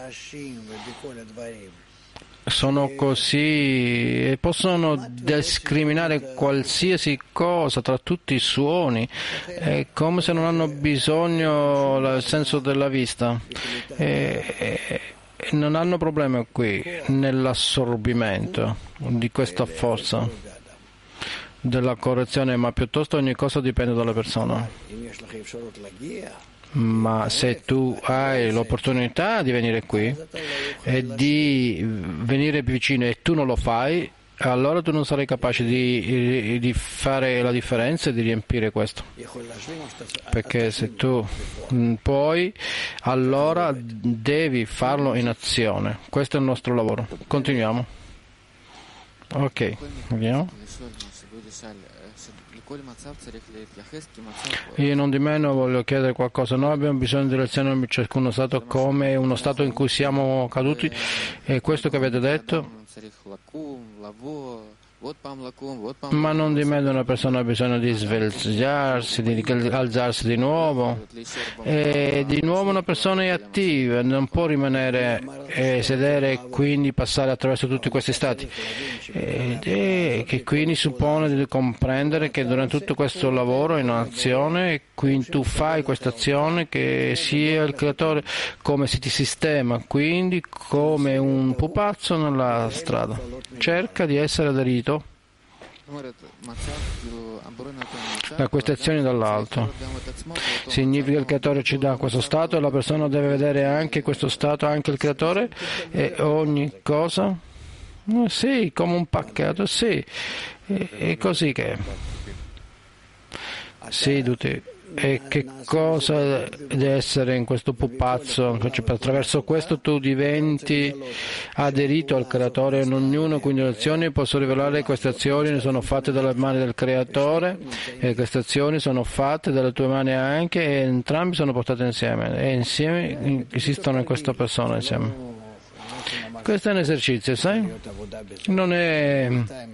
C: sono così e possono discriminare qualsiasi cosa tra tutti i suoni, è come se non hanno bisogno del senso della vista. Non hanno problema qui nell'assorbimento di questa forza della correzione, ma piuttosto ogni cosa dipende dalla persona. Ma se tu hai l'opportunità di venire qui e di venire vicino e tu non lo fai, allora tu non sarai capace di fare la differenza e di riempire questo. Perché se tu puoi, allora devi farlo in azione. Questo è il nostro lavoro. Continuiamo. Ok, vediamo. Io non di meno voglio chiedere qualcosa. Noi abbiamo bisogno di lezioni in ciascuno stato come uno stato in cui siamo caduti, e questo che avete detto. Ma non di meno una persona ha bisogno di svegliarsi, di alzarsi di nuovo, e di nuovo una persona è attiva, non può rimanere sedere e quindi passare attraverso tutti questi stati, che quindi suppone di comprendere che durante tutto questo lavoro in un'azione, quindi tu fai questa azione che sia il creatore come si ti sistema, quindi come un pupazzo nella strada cerca di essere aderito da queste azioni dall'alto. Significa che il creatore ci dà questo stato e la persona deve vedere anche questo stato, anche il creatore e ogni cosa? Sì, come un pacchetto, sì, è così che seduti. E che cosa deve essere in questo pupazzo? Attraverso questo tu diventi aderito al creatore, e ognuno quindi le azioni posso rivelare queste azioni sono fatte dalle mani del creatore e queste azioni sono fatte dalle tue mani anche, e entrambi sono portati insieme e insieme esistono in questa persona insieme. Questo è un esercizio, sai? Non è...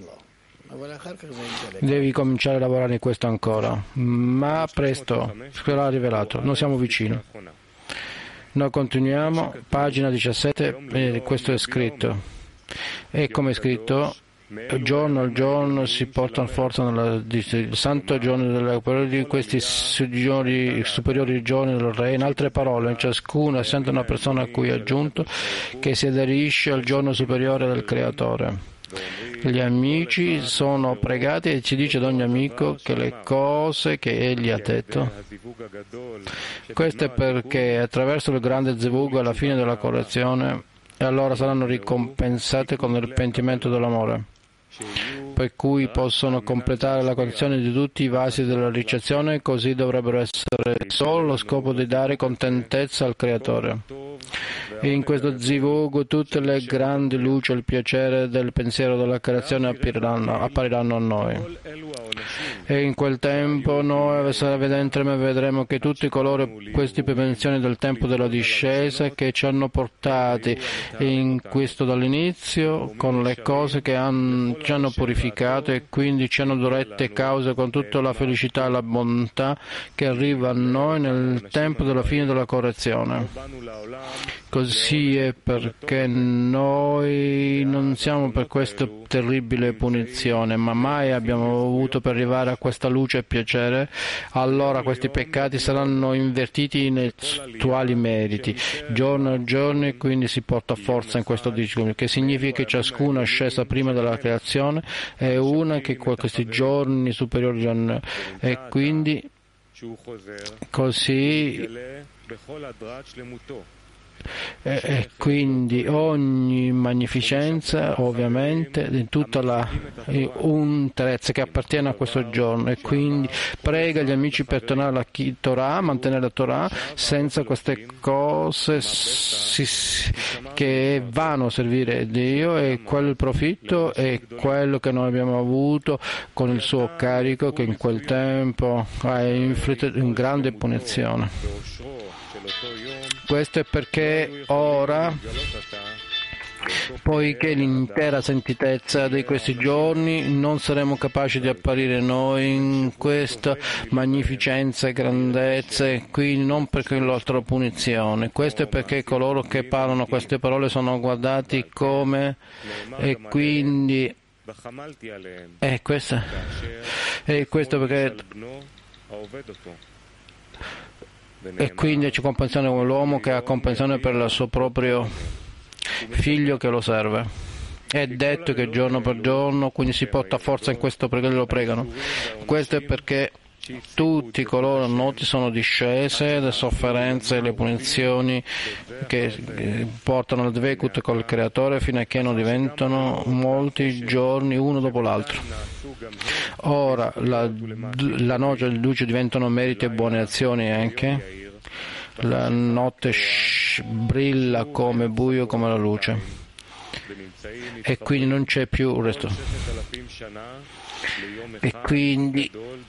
C: Devi cominciare a lavorare in questo ancora, ma presto sarà rivelato. Noi siamo vicini. Noi continuiamo, pagina 17, questo è scritto. E come è scritto, giorno al giorno si portano forza il santo giorno di questi superiori giorni del Re. In altre parole, in ciascuna sente una persona a cui è aggiunto che si aderisce al giorno superiore del Creatore. Gli amici sono pregati e ci dice ad ogni amico che le cose che egli ha detto. Questo è perché attraverso il grande zivug alla fine della correzione, e allora saranno ricompensate con il pentimento dell'amore, per cui possono completare la condizione di tutti i vasi della ricezione, così dovrebbero essere solo lo scopo di dare contentezza al Creatore. E in questo zivug tutte le grandi luci e il piacere del pensiero della creazione appariranno a noi. E in quel tempo noi vedremo che tutti coloro, queste prevenzioni del tempo della discesa che ci hanno portati in questo dall'inizio con le cose che ci hanno purificato e quindi ci hanno dirette cause con tutta la felicità e la bontà che arriva a noi nel tempo della fine della correzione. Così è perché noi non siamo per questa terribile punizione, ma mai abbiamo avuto per arrivare a questa luce e piacere. Allora questi peccati saranno invertiti in attuali meriti, giorno a giorno, e quindi si porta forza in questo discorso, che significa che ciascuna ascesa prima della creazione è una che questi giorni superiori hanno, e quindi così. E quindi ogni magnificenza ovviamente di tutta la interezza che appartiene a questo giorno, e quindi prega gli amici per tornare alla Torah, mantenere la Torah senza queste cose che vanno a servire Dio, e quel profitto è quello che noi abbiamo avuto con il suo carico che in quel tempo ha inflitto una grande punizione. Questo è perché ora, poiché l'intera santitezza di questi giorni, non saremo capaci di apparire noi in questa magnificenza e grandezza, e quindi non perché l'altra punizione. Questo è perché coloro che parlano queste parole sono guardati come, e quindi questo perché. E quindi c'è comprensione con l'uomo che ha comprensione per il suo proprio figlio che lo serve. È detto che giorno per giorno, quindi si porta forza in questo perché lo pregano. Questo è perché tutti coloro noti sono discese, le sofferenze e le punizioni che portano al dvekut col Creatore fino a che non diventano molti giorni uno dopo l'altro. Ora la noce e la luce diventano meriti e buone azioni anche. La notte brilla come buio come la luce, e quindi non c'è più il resto. E quindi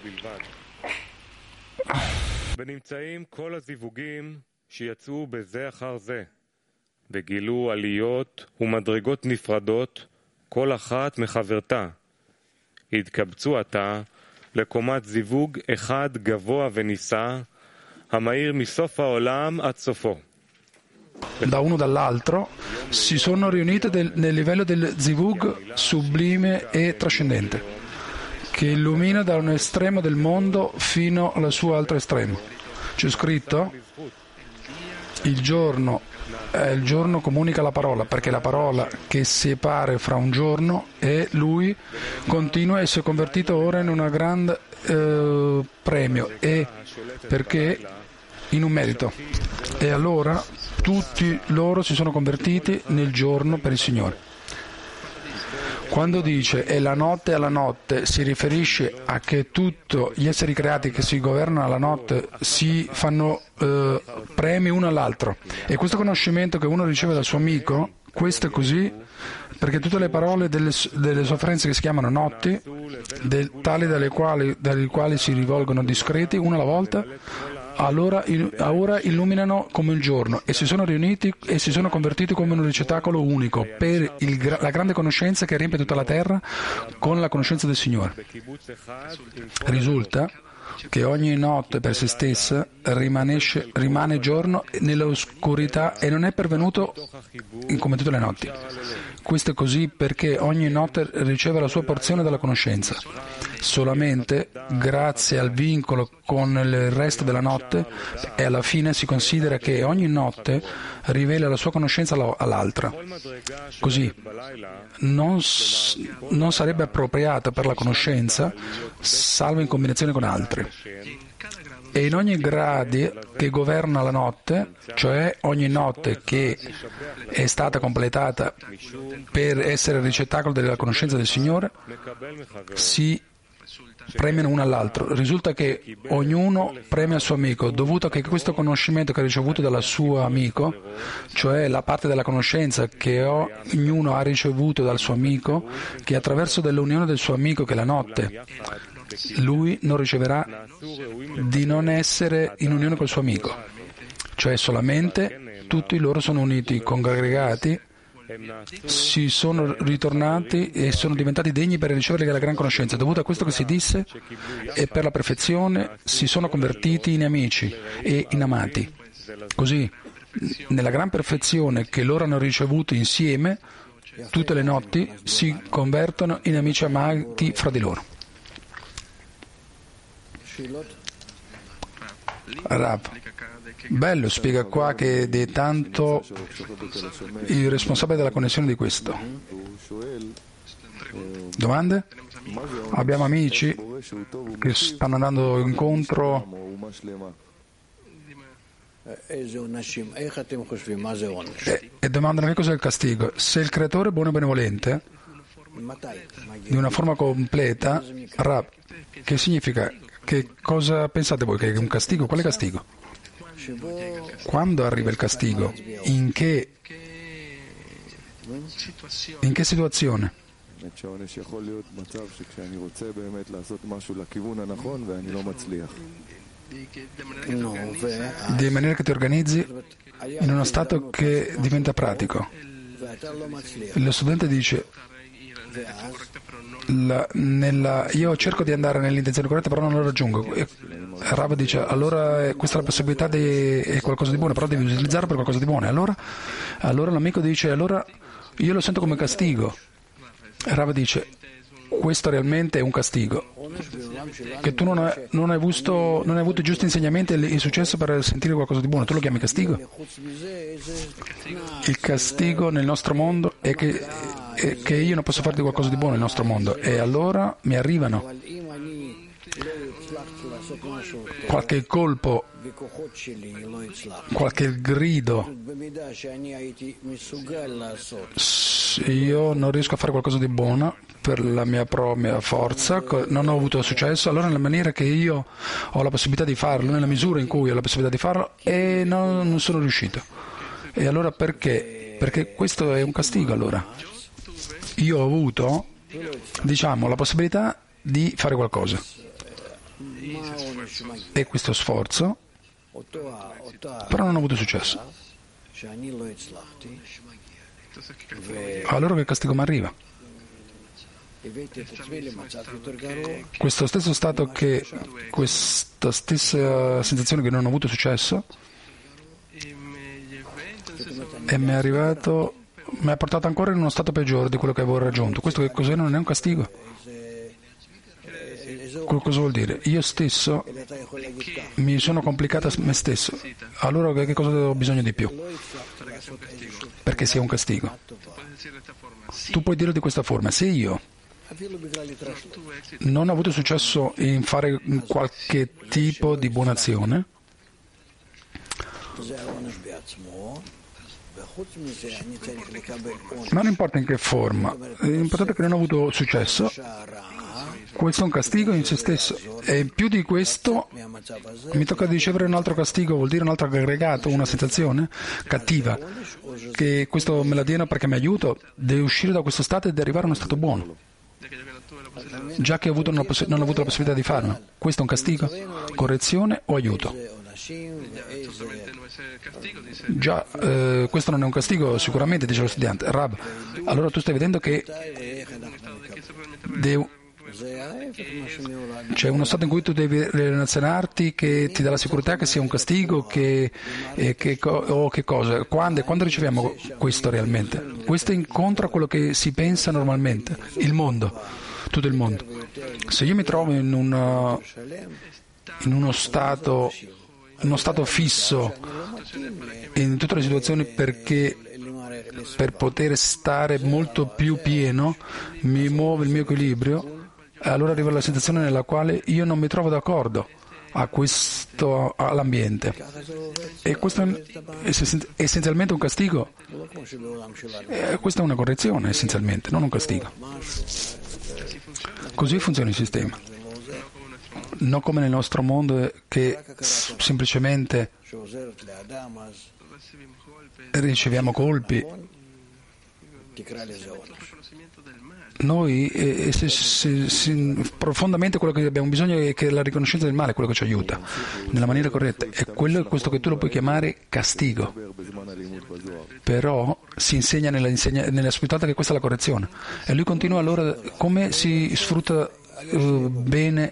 B: ונמצאים כל הזיווגים שיצאו בזה אחר זה וגילו עליות ומדרגות נפרדות כל אחת מחברתה. התקבצו עתה לקומת זיווג אחד גבוה ונישא המאיר מסוף העולם עד סופו.
D: Da uno dall'altro si sono riunite nel livello del zivug sublime e trascendente, che illumina da un estremo del mondo fino al suo altro estremo. C'è scritto: il giorno comunica la parola, perché la parola che separa fra un giorno e lui continua e si è convertito ora in un grande premio, e perché in un merito. E allora tutti loro si sono convertiti nel giorno per il Signore. Quando dice e la notte alla notte, si riferisce a che tutti gli esseri creati che si governano alla notte si fanno premi uno all'altro. E questo conoscimento che uno riceve dal suo amico, questo è così perché tutte le parole delle sofferenze che si chiamano notti, tali dalle quali si rivolgono discreti una alla volta, allora ora illuminano come il giorno, e si sono riuniti e si sono convertiti come un ricettacolo unico per la grande conoscenza che riempie tutta la terra con la conoscenza del Signore. Risulta che ogni notte per se stessa rimane giorno nell'oscurità e non è pervenuto come tutte le notti. Questo è così perché ogni notte riceve la sua porzione della conoscenza. solamente grazie al vincolo con il resto della notte, e alla fine si considera che ogni notte rivela la sua conoscenza all'altra. Così non sarebbe appropriata per la conoscenza, salvo in combinazione con altri. E in ogni grado che governa la notte, cioè ogni notte che è stata completata per essere il ricettacolo della conoscenza del Signore, si premiano uno all'altro. Risulta che ognuno premia il suo amico, dovuto a che questo conoscimento che ha ricevuto dal suo amico, cioè la parte della conoscenza che ognuno ha ricevuto dal suo amico, che attraverso dell'unione del suo amico, che è la notte, lui non riceverà di non essere in unione col suo amico, cioè solamente tutti loro sono uniti, congregati, si sono ritornati e sono diventati degni per ricevere la gran conoscenza. Dovuto a questo che si disse, e per la perfezione si sono convertiti in amici e in amati. Così, nella gran perfezione che loro hanno ricevuto insieme, tutte le notti si convertono in amici amati fra di loro. Rav, bello, spiega qua che è tanto il responsabile della connessione di questo. Domande? Abbiamo amici che stanno andando incontro. E domandano che cos'è il castigo. Se il creatore è buono e benevolente, di una forma completa, Rav, che significa? Che cosa pensate voi? Che è un castigo? Quale castigo? Quando arriva il castigo? In che situazione? Di maniera che ti organizzi in uno stato che diventa pratico. Lo studente dice: io cerco di andare nell'intenzione corretta, però non lo raggiungo. E Rav dice: allora questa è la possibilità è qualcosa di buono, però devi utilizzarlo per qualcosa di buono. Allora l'amico dice: allora io lo sento come castigo. E Rav dice: questo realmente è un castigo, che tu non hai avuto i giusti insegnamenti e il successo per sentire qualcosa di buono. Tu lo chiami castigo? Il castigo nel nostro mondo è che io non posso fare qualcosa di buono nel nostro mondo, e allora mi arrivano qualche colpo, qualche grido. Io non riesco a fare qualcosa di buono per la mia propria forza, non ho avuto successo, allora nella maniera che io ho la possibilità di farlo, nella misura in cui ho la possibilità di farlo, e non sono riuscito. E allora perché? Perché questo è un castigo. Allora io ho avuto, la possibilità di fare qualcosa, e questo sforzo, però non ho avuto successo. Allora che castigo mi arriva? Questo stesso stato, questa stessa sensazione che non ho avuto successo, e mi ha portato ancora in uno stato peggiore di quello che avevo raggiunto. Questo che cos'è? Non è un castigo. Cosa vuol dire? Io stesso mi sono complicato me stesso. Allora che cosa ho bisogno di più? Perché sia un castigo. Tu puoi dirlo di questa forma: se io non ho avuto successo in fare qualche tipo di buona azione, non importa in che forma, l'importante è che non ho avuto successo. Questo è un castigo in se stesso, e in più di questo mi tocca ricevere un altro castigo, vuol dire un altro aggregato, una sensazione cattiva, che questo me la diano perché mi aiuto, devo uscire da questo stato ed arrivare a uno stato buono, già che non ho avuto la possibilità di farlo. Questo è un castigo, correzione o aiuto? Già, questo non è un castigo sicuramente, dice lo studiante. Rav, allora tu stai vedendo che c'è uno stato in cui tu devi relazionarti che ti dà la sicurezza che sia un castigo, o che cosa? Quando riceviamo questo realmente? Questo incontra quello che si pensa normalmente, il mondo. tutto il mondo. Se io mi trovo in uno stato fisso in tutte le situazioni perché per poter stare molto più pieno mi muove il mio equilibrio, allora arrivo alla situazione nella quale io non mi trovo d'accordo all'ambiente, e questo è essenzialmente un castigo. Questa è una correzione essenzialmente, non un castigo. Così funziona il sistema, non come nel nostro mondo che semplicemente riceviamo colpi. Noi profondamente quello che abbiamo bisogno è che la riconoscenza del male è quello che ci aiuta nella maniera corretta, e quello è questo che tu lo puoi chiamare castigo, però si insegna nella sfruttata che questa è la correzione, e lui continua allora come si sfrutta bene,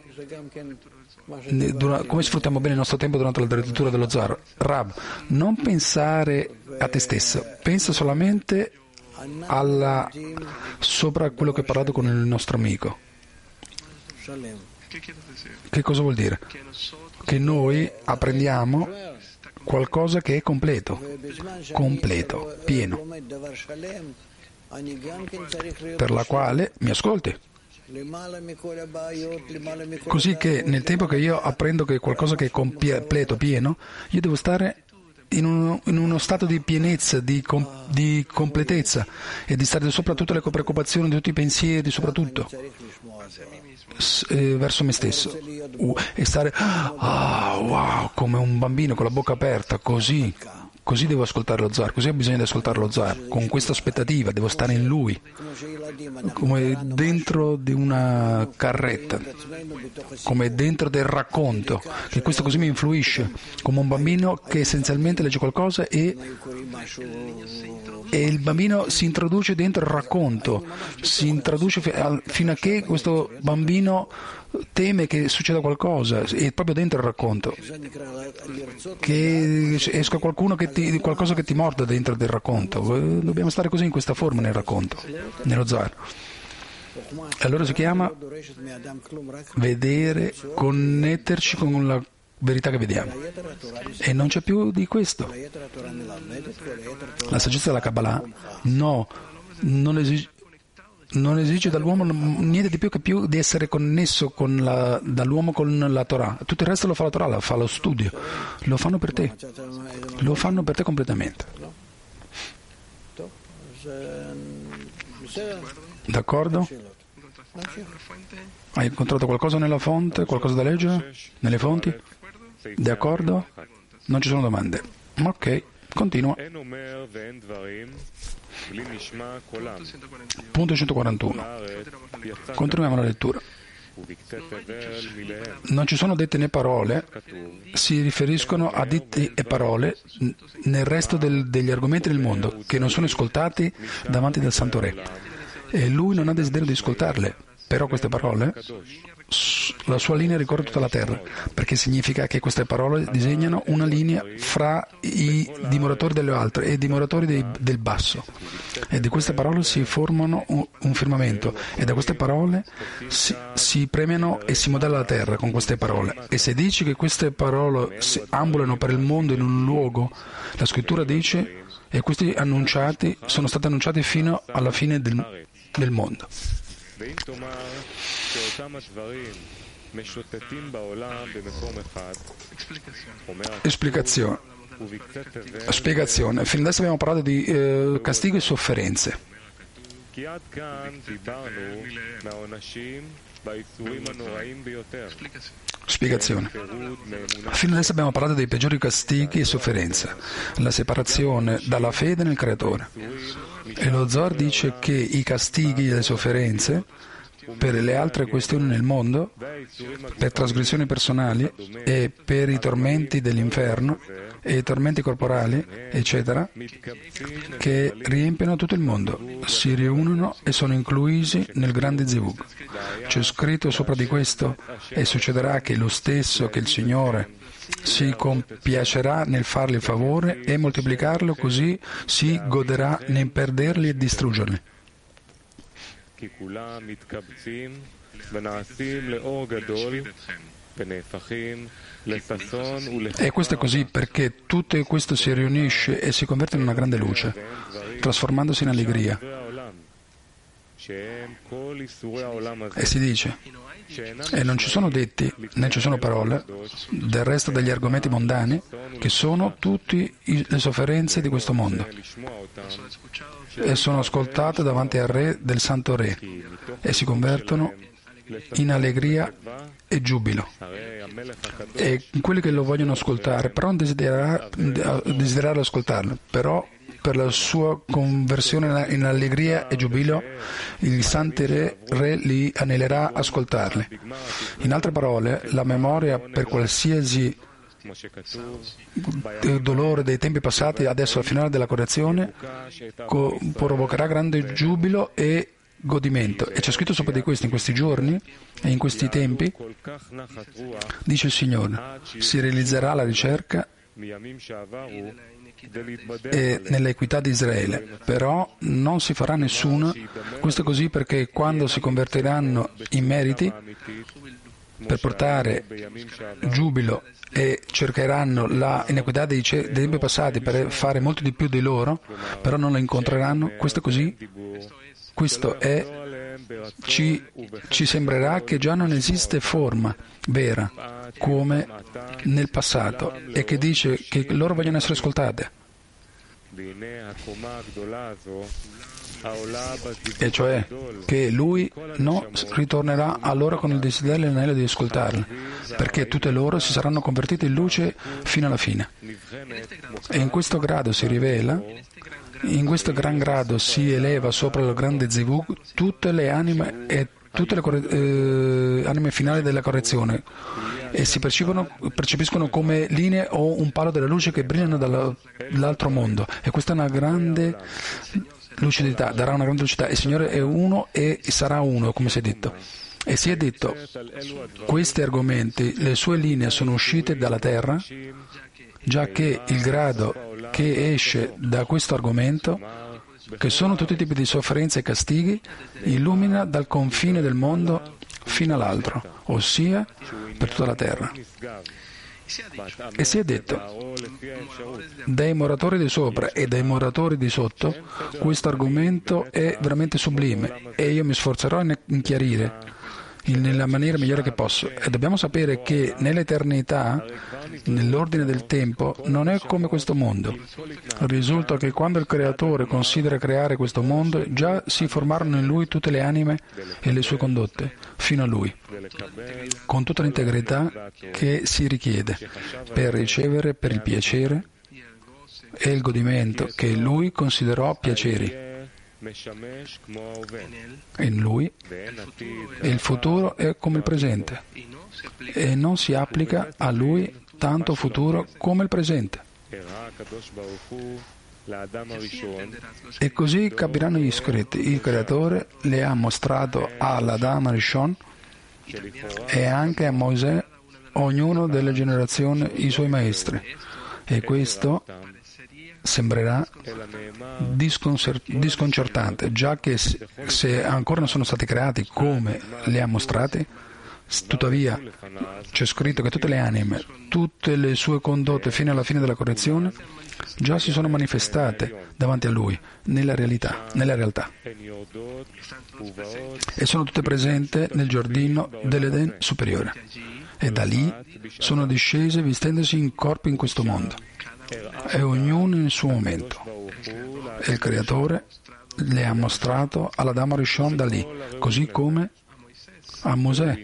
D: come sfruttiamo bene il nostro tempo durante la lettura dello Zohar. Rab, non pensare a te stesso, pensa solamente sopra quello che ho parlato con il nostro amico. Che cosa vuol dire? Che noi apprendiamo qualcosa che è completo, pieno, per la quale mi ascolti. Così che nel tempo che io apprendo che qualcosa che è completo, pieno, io devo stare in uno stato di pienezza, di completezza, e di stare sopra tutte le preoccupazioni, di tutti i pensieri, soprattutto verso me stesso, e stare wow, come un bambino con la bocca aperta, così devo ascoltare lo Zohar, così ho bisogno di ascoltare lo Zohar, con questa aspettativa, devo stare in lui, come dentro di una carretta, come dentro del racconto, che questo così mi influisce, come un bambino che essenzialmente legge qualcosa e il bambino si introduce dentro il racconto, si introduce fino a che questo bambino teme che succeda qualcosa, è proprio dentro il racconto, che esca qualcosa che ti morda dentro del racconto. Dobbiamo stare così, in questa forma, nel racconto, nello Zohar. Allora si chiama vedere, connetterci con la verità che vediamo, e non c'è più di questo. La saggezza della Kabbalah non esige dall'uomo niente di più che di essere connesso dall'uomo con la Torah. Tutto il resto lo fa la Torah, lo fa lo studio, lo fanno per te completamente. D'accordo? Hai incontrato qualcosa nella fonte, qualcosa da leggere nelle fonti? D'accordo? Non ci sono domande. Ok, continua. Punto 141. Continuiamo la lettura. Non ci sono dette né parole, si riferiscono a detti e parole nel resto degli argomenti del mondo, che non sono ascoltati davanti del Santo Re, e lui non ha desiderio di ascoltarle. Però queste parole, la sua linea ricorre tutta la terra, perché significa che queste parole disegnano una linea fra i dimoratori delle altre e i dimoratori del basso, e di queste parole si formano un firmamento, e da queste parole si premiano e si modella la terra con queste parole. E se dici che queste parole ambulano per il mondo in un luogo, la scrittura dice, e questi sono stati annunciati fino alla fine del mondo. Spiegazione. Fino adesso abbiamo parlato di castigo e sofferenze. Spiegazione. Fino adesso abbiamo parlato dei peggiori castighi e sofferenze, la separazione dalla fede nel Creatore. E lo Zohar dice che i castighi e le sofferenze per le altre questioni nel mondo, per trasgressioni personali e per i tormenti dell'inferno e i tormenti corporali, eccetera, che riempiono tutto il mondo, si riunono e sono inclusi nel grande Zivug. C'è scritto sopra di questo, e succederà che lo stesso che il Signore si compiacerà nel fargli il favore e moltiplicarlo, così si goderà nel perderli e distruggerli. E questo è così perché tutto questo si riunisce e si converte in una grande luce, trasformandosi in allegria. E si dice, e non ci sono detti né ci sono parole del resto degli argomenti mondani che sono tutte le sofferenze di questo mondo e sono ascoltate davanti al Re del Santo Re e si convertono in allegria e giubilo. E quelli che lo vogliono ascoltare però non desiderare ascoltarlo, però per la sua conversione in allegria e giubilo, il Santo Re li anellerà ascoltarli. In altre parole, la memoria per qualsiasi dolore dei tempi passati, adesso al finale della correzione, provocherà grande giubilo e godimento. E c'è scritto sopra di questo in questi giorni e in questi tempi, dice il Signore, si realizzerà la ricerca e nell'equità di Israele, però non si farà nessuna. Questo è così perché quando si convertiranno in meriti per portare giubilo e cercheranno la inequità dei tempi passati per fare molto di più di loro, però non la incontreranno. Questo è così. Questo è, ci sembrerà che già non esiste forma vera come nel passato e che dice che loro vogliono essere ascoltate. E cioè che lui non ritornerà a loro con il desiderio e l'anello di ascoltarli, perché tutte loro si saranno convertite in luce fino alla fine. E in questo grado si rivela, in questo gran grado si eleva sopra il grande Zivug tutte le anime e tutte le anime finali della correzione e si percepiscono come linee o un palo della luce che brillano dall'altro mondo. E questa è una grande lucidità, darà una grande lucidità. Il Signore è uno e sarà uno, come si è detto. E si è detto, questi argomenti, le sue linee sono uscite dalla terra, già che il grado che esce da questo argomento, che sono tutti i tipi di sofferenze e castighi, illumina dal confine del mondo fino all'altro, ossia per tutta la terra. E si è detto, dai moratori di sopra e dai moratori di sotto, questo argomento è veramente sublime e io mi sforzerò in chiarire nella maniera migliore che posso. E dobbiamo sapere che nell'eternità, nell'ordine del tempo, non è come questo mondo. Risulta che quando il Creatore considera creare questo mondo, già si formarono in Lui tutte le anime e le sue condotte, fino a Lui, con tutta l'integrità che si richiede per ricevere per il piacere e il godimento che Lui considerò piaceri. In Lui e il futuro è come il presente e non si applica a Lui tanto futuro come il presente. E così capiranno gli scritti. Il Creatore le ha mostrato all'Adam Rishon e anche a Mosè, ognuno delle generazioni, i suoi maestri. E questo sembrerà disconcertante, già che se ancora non sono stati creati come li ha mostrati, tuttavia c'è scritto che tutte le anime, tutte le sue condotte fino alla fine della correzione, già si sono manifestate davanti a Lui, nella realtà. E sono tutte presenti nel giardino dell'Eden superiore. E da lì sono discese vestendosi in corpi in questo mondo. E ognuno nel suo momento. E il Creatore le ha mostrato all'Adam Rishon da lì, così come a Mosè.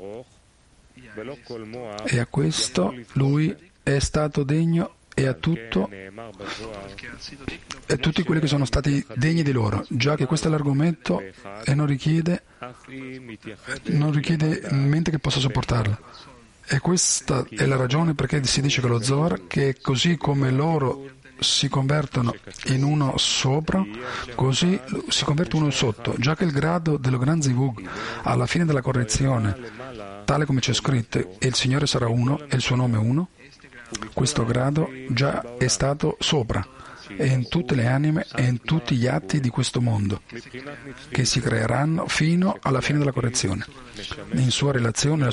D: E a questo lui è stato degno e a tutto e tutti quelli che sono stati degni di loro, già che questo è l'argomento e non richiede mente che possa sopportarlo. E questa è la ragione perché si dice che lo Zohar, che così come loro si convertono in uno sopra, così si converte uno sotto, già che il grado dello Gran Zivug alla fine della correzione, tale come c'è scritto, e il Signore sarà uno e il suo nome uno, questo grado già è stato sopra e in tutte le anime e in tutti gli atti di questo mondo, che si creeranno fino alla fine della correzione, nella sua relazione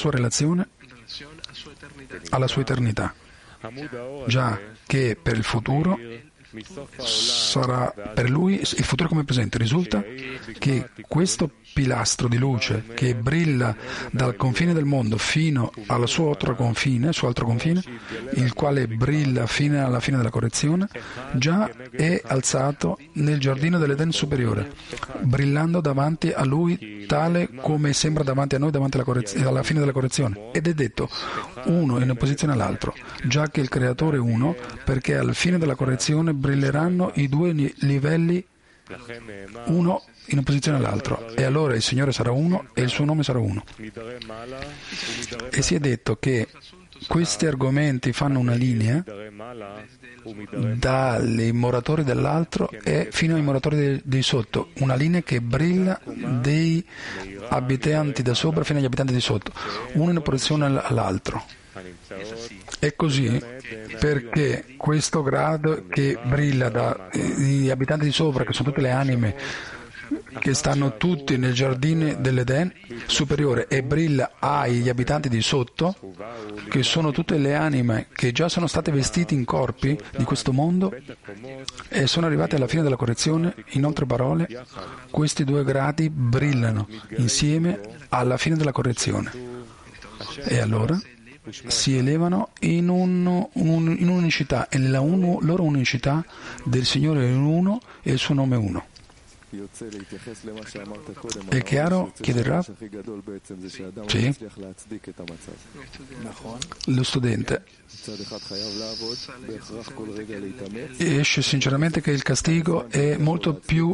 D: alla sua eternità, già che per il futuro sarà per lui il futuro come presente. Risulta che questo pilastro di luce che brilla dal confine del mondo fino al suo altro confine, il quale brilla fino alla fine della correzione, già è alzato nel giardino dell'Eden superiore, brillando davanti a lui tale come sembra davanti a noi alla fine della correzione, ed è detto uno in opposizione all'altro, già che il creatore è uno, perché alla fine della correzione brilleranno i due livelli uno in opposizione all'altro, e allora il Signore sarà uno e il suo nome sarà uno. E si è detto che questi argomenti fanno una linea dai moratori dell'altro e fino ai moratori di sotto, una linea che brilla dei abitanti da sopra fino agli abitanti di sotto, uno in opposizione all'altro. È così perché questo grado che brilla dagli abitanti di sopra, che sono tutte le anime che stanno tutti nel giardino dell'Eden superiore, e brilla agli abitanti di sotto, che sono tutte le anime che già sono state vestite in corpi di questo mondo e sono arrivate alla fine della correzione. In altre parole, questi due gradi brillano insieme alla fine della correzione, e allora si elevano in un'unicità, e nella loro unicità del Signore è uno e il suo nome è uno. È chiaro? Chiede Rav? Sì. Lo studente esce sinceramente che il castigo è molto più,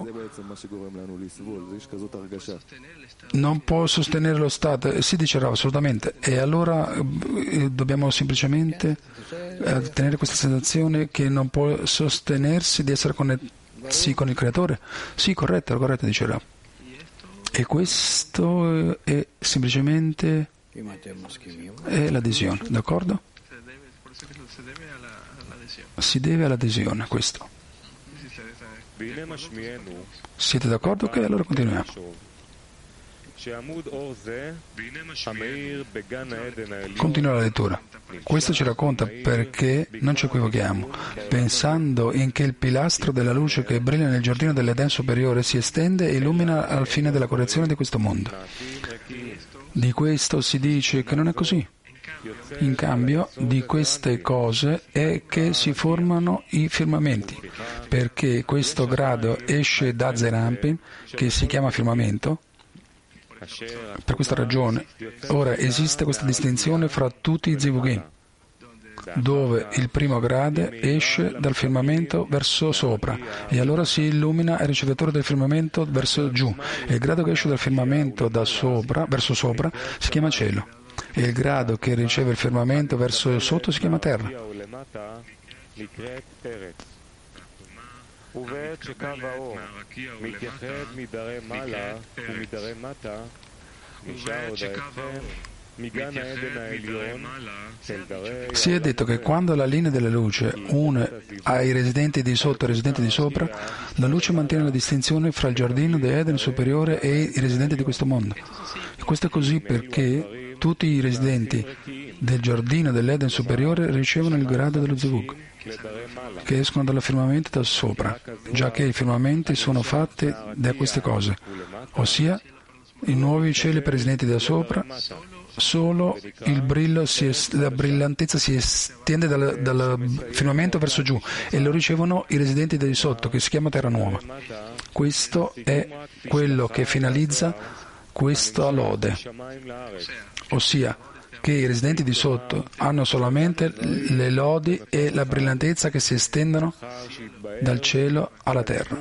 D: non può sostenere lo Stato. Si dice Rav, assolutamente, e allora dobbiamo semplicemente tenere questa sensazione che non può sostenersi di essere connetti con il Creatore. Sì, corretto, dice Rav. E questo è semplicemente l'adesione, d'accordo? Si deve all'adesione, questo. Siete d'accordo? Ok, allora continuiamo. Continua la lettura. Questo ci racconta perché non ci equivochiamo, pensando in che il pilastro della luce che brilla nel giardino dell'Eden superiore si estende e illumina al fine della correzione di questo mondo. Di questo si dice che non è così. In cambio di queste cose è che si formano i firmamenti, perché questo grado esce da Zerampin, che si chiama firmamento. Per questa ragione, ora esiste questa distinzione fra tutti i Zivugim, dove il primo grado esce dal firmamento verso sopra e allora si illumina il ricevitore del firmamento verso giù, e il grado che esce dal firmamento verso sopra si chiama cielo, e il grado che riceve il firmamento verso sotto si chiama terra. Si è detto che quando la linea della luce une ai residenti di sotto e ai residenti di sopra, la luce mantiene la distinzione fra il giardino di Eden superiore e i residenti di questo mondo. E questo è così perché tutti i residenti del giardino dell'Eden superiore ricevono il grado dello Zivug, che escono dal firmamento da sopra, già che i firmamenti sono fatti da queste cose, ossia i nuovi cieli per i residenti da sopra. Solo il brillo la brillantezza si estende dal firmamento verso giù e lo ricevono i residenti di sotto, che si chiama terra nuova. Questo è quello che finalizza questa lode, ossia che i residenti di sotto hanno solamente le lodi e la brillantezza che si estendono dal cielo alla terra.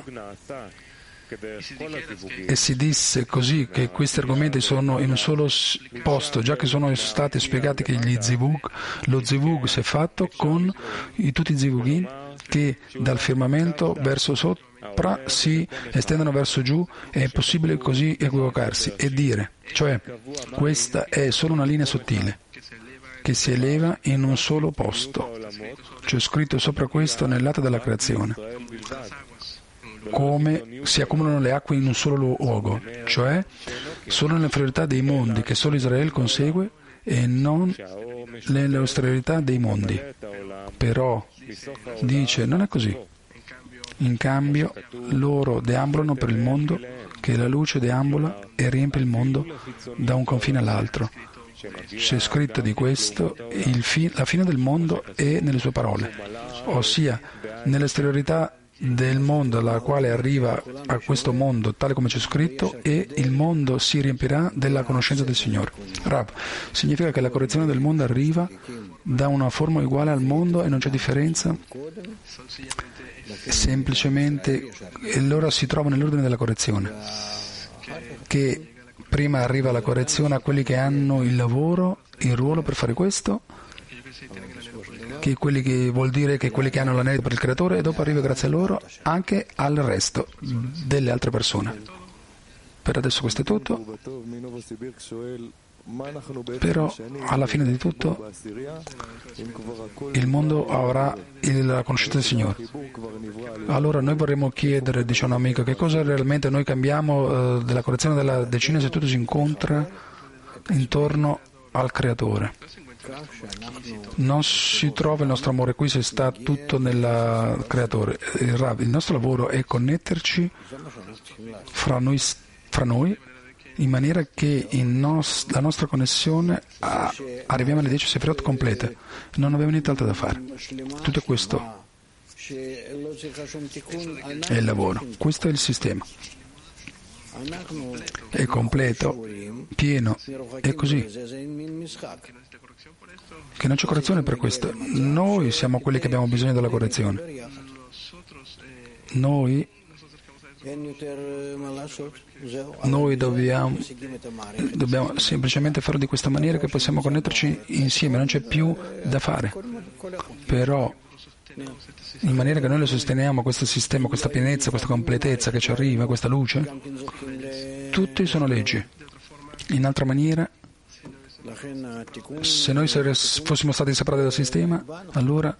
D: E si disse così che questi argomenti sono in un solo posto, già che sono stati spiegati che lo Zivug si è fatto con tutti i Zivugim che dal firmamento verso sopra si estendono verso giù. È possibile così equivocarsi e dire, cioè questa è solo una linea sottile che si eleva in un solo posto. C'è scritto sopra questo nell'atto della creazione, come si accumulano le acque in un solo luogo, cioè solo nell'inferiorità dei mondi che solo Israele consegue e non nell'austerità dei mondi. Però, dice, non è così. In cambio, loro deambulano per il mondo, che la luce deambula e riempie il mondo da un confine all'altro. C'è scritto di questo, la fine del mondo è nelle sue parole, ossia nell'esteriorità del mondo alla quale arriva a questo mondo, tale come c'è scritto, e il mondo si riempirà della conoscenza del Signore. Rav, significa che la correzione del mondo arriva da una forma uguale al mondo e non c'è differenza? Semplicemente loro si trovano nell'ordine della correzione, che prima arriva la correzione a quelli che hanno il lavoro, il ruolo per fare questo, che quelli che vuol dire che quelli che hanno l'anello per il creatore, e dopo arriva grazie a loro anche al resto delle altre persone. Per adesso questo è tutto, però alla fine di tutto il mondo avrà la conoscenza del Signore. Allora noi vorremmo chiedere, dice un amico, che cosa realmente noi cambiamo della correzione della decina se tutto si incontra intorno al creatore. Non si trova il nostro amore qui se sta tutto nel creatore. Il nostro lavoro è connetterci fra noi in maniera che la nostra connessione arriviamo alle 10 Sefirot complete. Non abbiamo nient'altro da fare. Tutto questo è il lavoro. Questo è il sistema. È completo, pieno, è così. Che non c'è correzione per questo. Noi siamo quelli che abbiamo bisogno della correzione. Noi dobbiamo semplicemente farlo di questa maniera che possiamo connetterci insieme, non c'è più da fare. Però in maniera che noi lo sosteniamo, questo sistema, questa pienezza, questa completezza che ci arriva, questa luce, tutti sono leggi. In altra maniera, se noi fossimo stati separati dal sistema, allora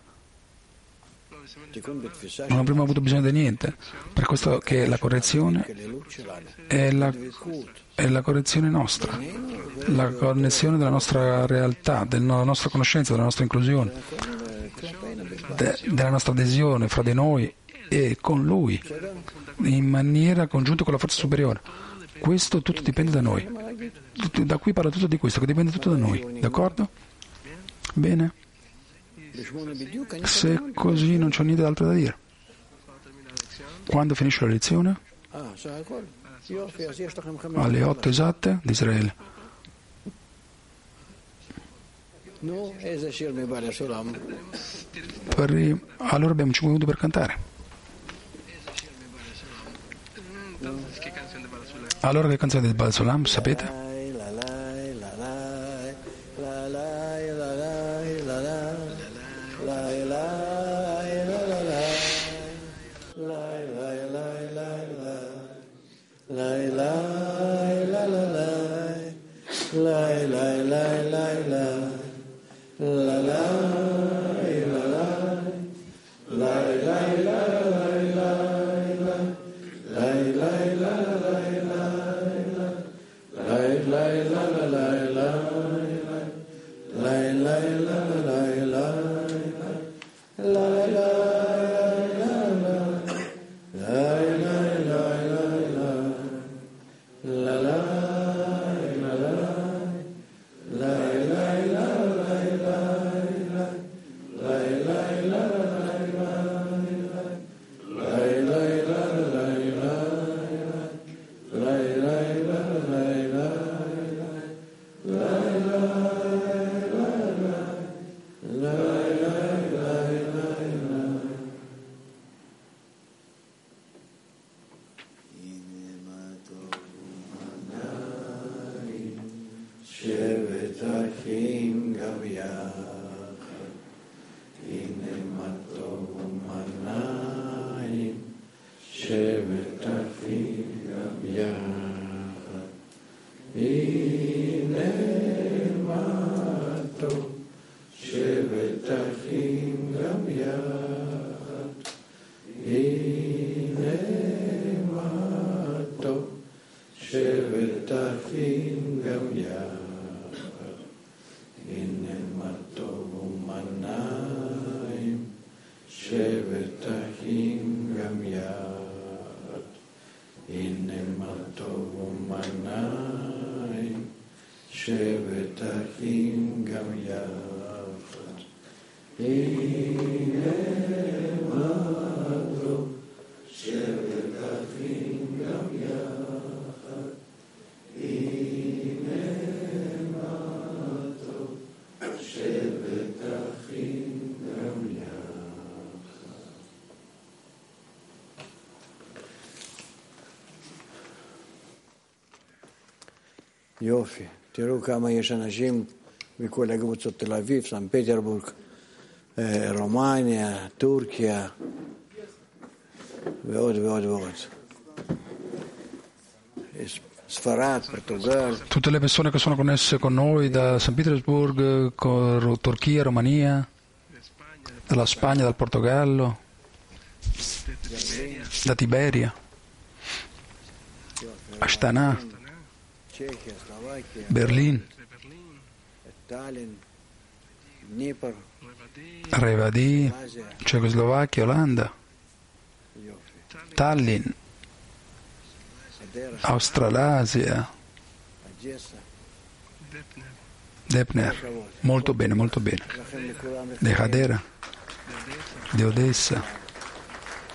D: non avremmo avuto bisogno di niente. Per questo che la correzione è la correzione nostra, la connessione della nostra realtà, della nostra conoscenza, della nostra inclusione, della nostra adesione fra di noi e con Lui, in maniera congiunta con la forza superiore. Questo tutto dipende da noi. Da qui parla tutto di questo, che dipende tutto da noi. D'accordo? Bene. Se così non c'è niente altro da dire. Quando finisce la lezione? Alle 8 esatte di Israele. Allora abbiamo 5 minuti per cantare. Allora che canzone del Baal Sulam, sapete?
E: שבט אחים גם יחד, הנה מה טוב ומנעים, שבט אחים גם יחד, הנה מה טוב, שבט אחים גם יחד, הנה מה טוב, שבט אחים גם יחד. יופי, תראו כמה יש אנשים מכל הקבוצות, תל אביב, סן פטרבורג, רומניה, טורקיה ועוד ועוד ועוד. ספרד, פורטוגל.
D: Tutte le persone che sono connesse con noi da San Pietroburgo, Turchia, Romania, dalla Spagna, dal Portogallo, da Tiberia, Astana, Berlino, Revadi, Cecoslovacchia, Olanda, Tallinn, Australasia, Depner, molto bene, molto bene. De Hadera, di Odessa,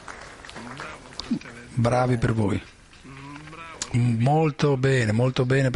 D: bravi per voi. Molto bene, molto bene.